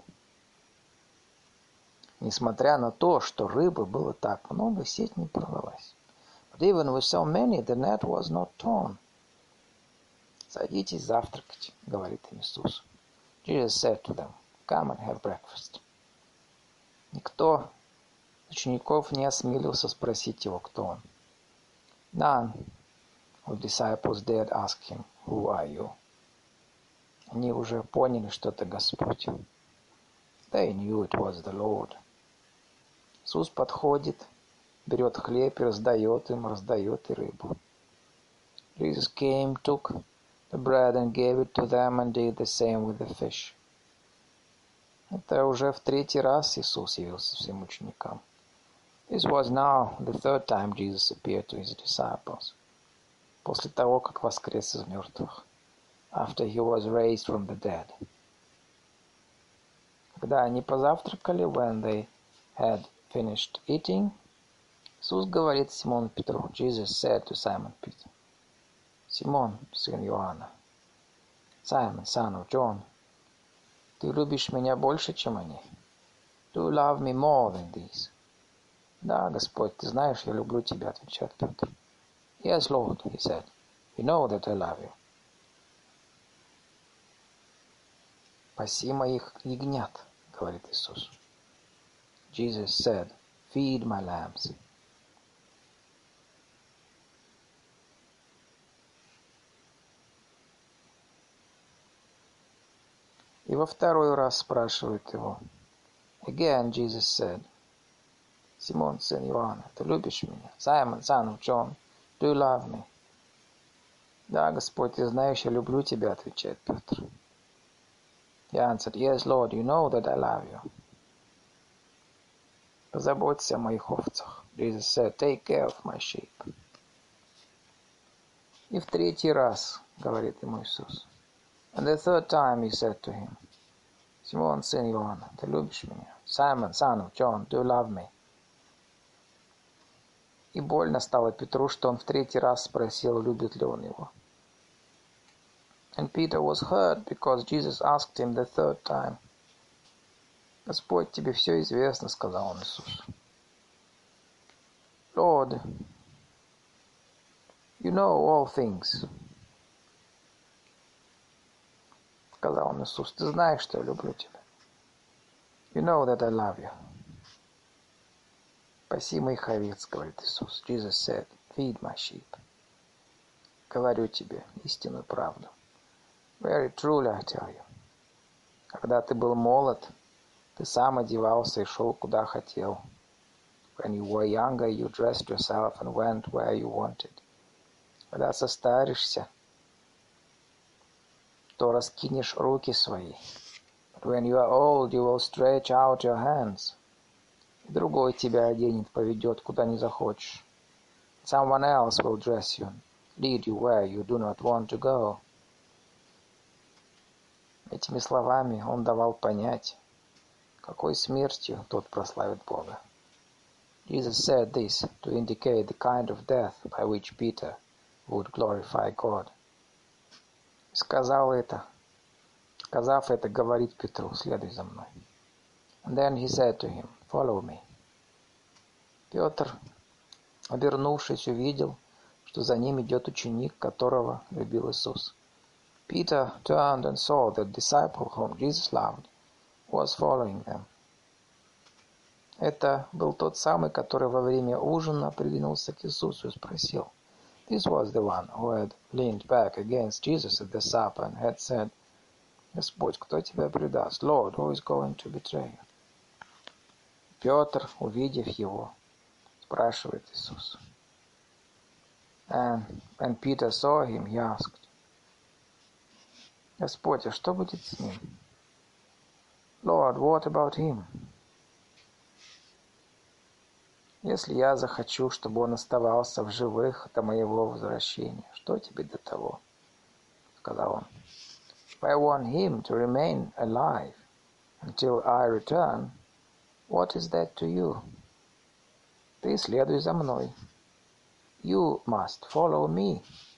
Несмотря на то, что рыбы было так много, сеть не порвалась. But even with so many, the net was not torn. «Садитесь завтракать», — говорит им Иисус. Jesus said to them, "Come and have breakfast." Никто из учеников не осмелился спросить его, кто он. None of disciples dared ask him, "Who are you?" Они уже поняли, что это Господь. They knew it was the Lord. Иисус подходит, берет хлеб и раздает им, раздает и рыбу. Jesus came, took the bread and gave it to them and did the same with the fish. Это уже в третий раз Иисус явился всем ученикам. This was now the third time Jesus appeared to his disciples. После того, как воскрес из мертвых. After he was raised from the dead. Когда они позавтракали, when they had finished eating, Иисус говорит Симону Петру, Jesus said to Simon Peter, Симон, сын Иоанна, Simon, son of John, ты любишь меня больше, чем они? Do you love me more than these? Да, Господь, ты знаешь, я люблю тебя, отвечает Петр. Yes, Lord, he said, you know that I love you. Паси моих ягнят, говорит Иисус. Jesus said, feed my lambs. И во второй раз спрашивает его. Again, Jesus said, Симон, сын Иоанна, ты любишь меня? Simon, son of John, do you love me? Да, Господь, ты знаешь, я люблю тебя, отвечает Петр. He answered, yes, Lord, you know that I love you. Позаботься о моих овцах. Jesus said, take care of my sheep. И в третий раз, говорит ему Иисус. And the third time he said to him, Симон, сын Иоанна, ты любишь меня? Simon, son of John, do you love me? И больно стало Петру, что он в третий раз спросил, любит ли он его. And Peter was hurt because Jesus asked him the third time. Господь, тебе все известно, сказал он Иисусу. Lord, you know all things. Сказал он Иисус, ты знаешь, что я люблю тебя. You know that I love you. Паси моих овец, говорит Иисус. Jesus said, feed my sheep. Говорю тебе истинную правду. Very truly I tell you. Когда ты был молод, ты сам одевался и шел куда хотел. When you were younger, you dressed yourself and went where you wanted. Когда состаришься, то раскинешь руки свои. But when you are old, you will stretch out your hands. И другой тебя оденет, поведет, куда не захочешь. Someone else will dress you, lead you where you do not want to go. Этими словами он давал понять, какой смертью тот прославит Бога. Jesus said this to indicate the kind of death by which Peter would glorify God. Сказал это, сказав это, говорит Петру, следуй за мной. And then he said to him, follow me. Петр, обернувшись, увидел, что за ним идет ученик, которого любил Иисус. Peter turned and saw that the disciple whom Jesus loved was following them. Это был тот самый, который во время ужина придвинулся к Иисусу и спросил. This was the one who had leaned back against Jesus at the supper and had said, Господь, кто тебя предаст? Lord, who is going to betray you? Петр, увидев его, спрашивает Иисус. And when Peter saw him, he asked, Господь, а что будет с ним? Lord, what about him? Если я захочу, чтобы он оставался в живых до моего возвращения, что тебе до того? Сказал он. If I want him to remain alive until I return, what is that to you? Ты следуй за мной. You must follow me.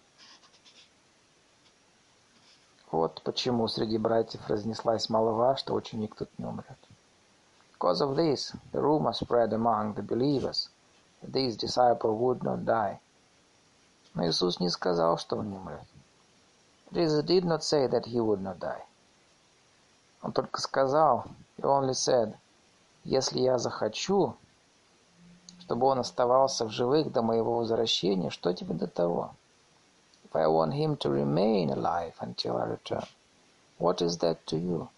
Вот почему среди братьев разнеслась молва, что ученик тут не умрет. Because of this, the rumor spread among the believers that this disciple would not die. Но Иисус не сказал, что он не умрет. Jesus did not say that he would not die. Он только сказал, he only said, если я захочу, чтобы он оставался в живых до моего возвращения, что тебе до того? If I want him to remain alive until I return, what is that to you?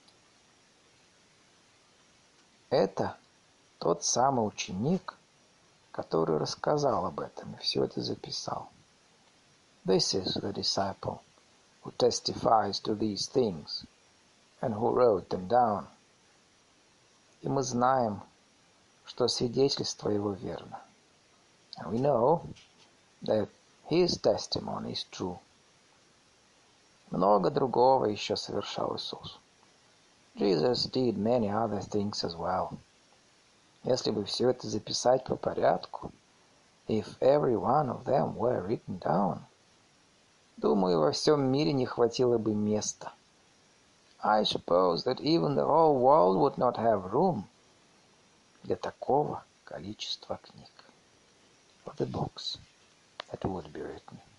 Это тот самый ученик, который рассказал об этом и все это записал. This is the disciple who testifies to these things and who wrote them down. И мы знаем, что свидетельство его верно. And we know that his testimony is true. Много другого еще совершал Иисус. Jesus did many other things as well. Если бы все это записать по порядку, if every one of them were written down, думаю, во всем мире не хватило бы места. I suppose that even the whole world would not have room для такого количества книг. For the books that would be written.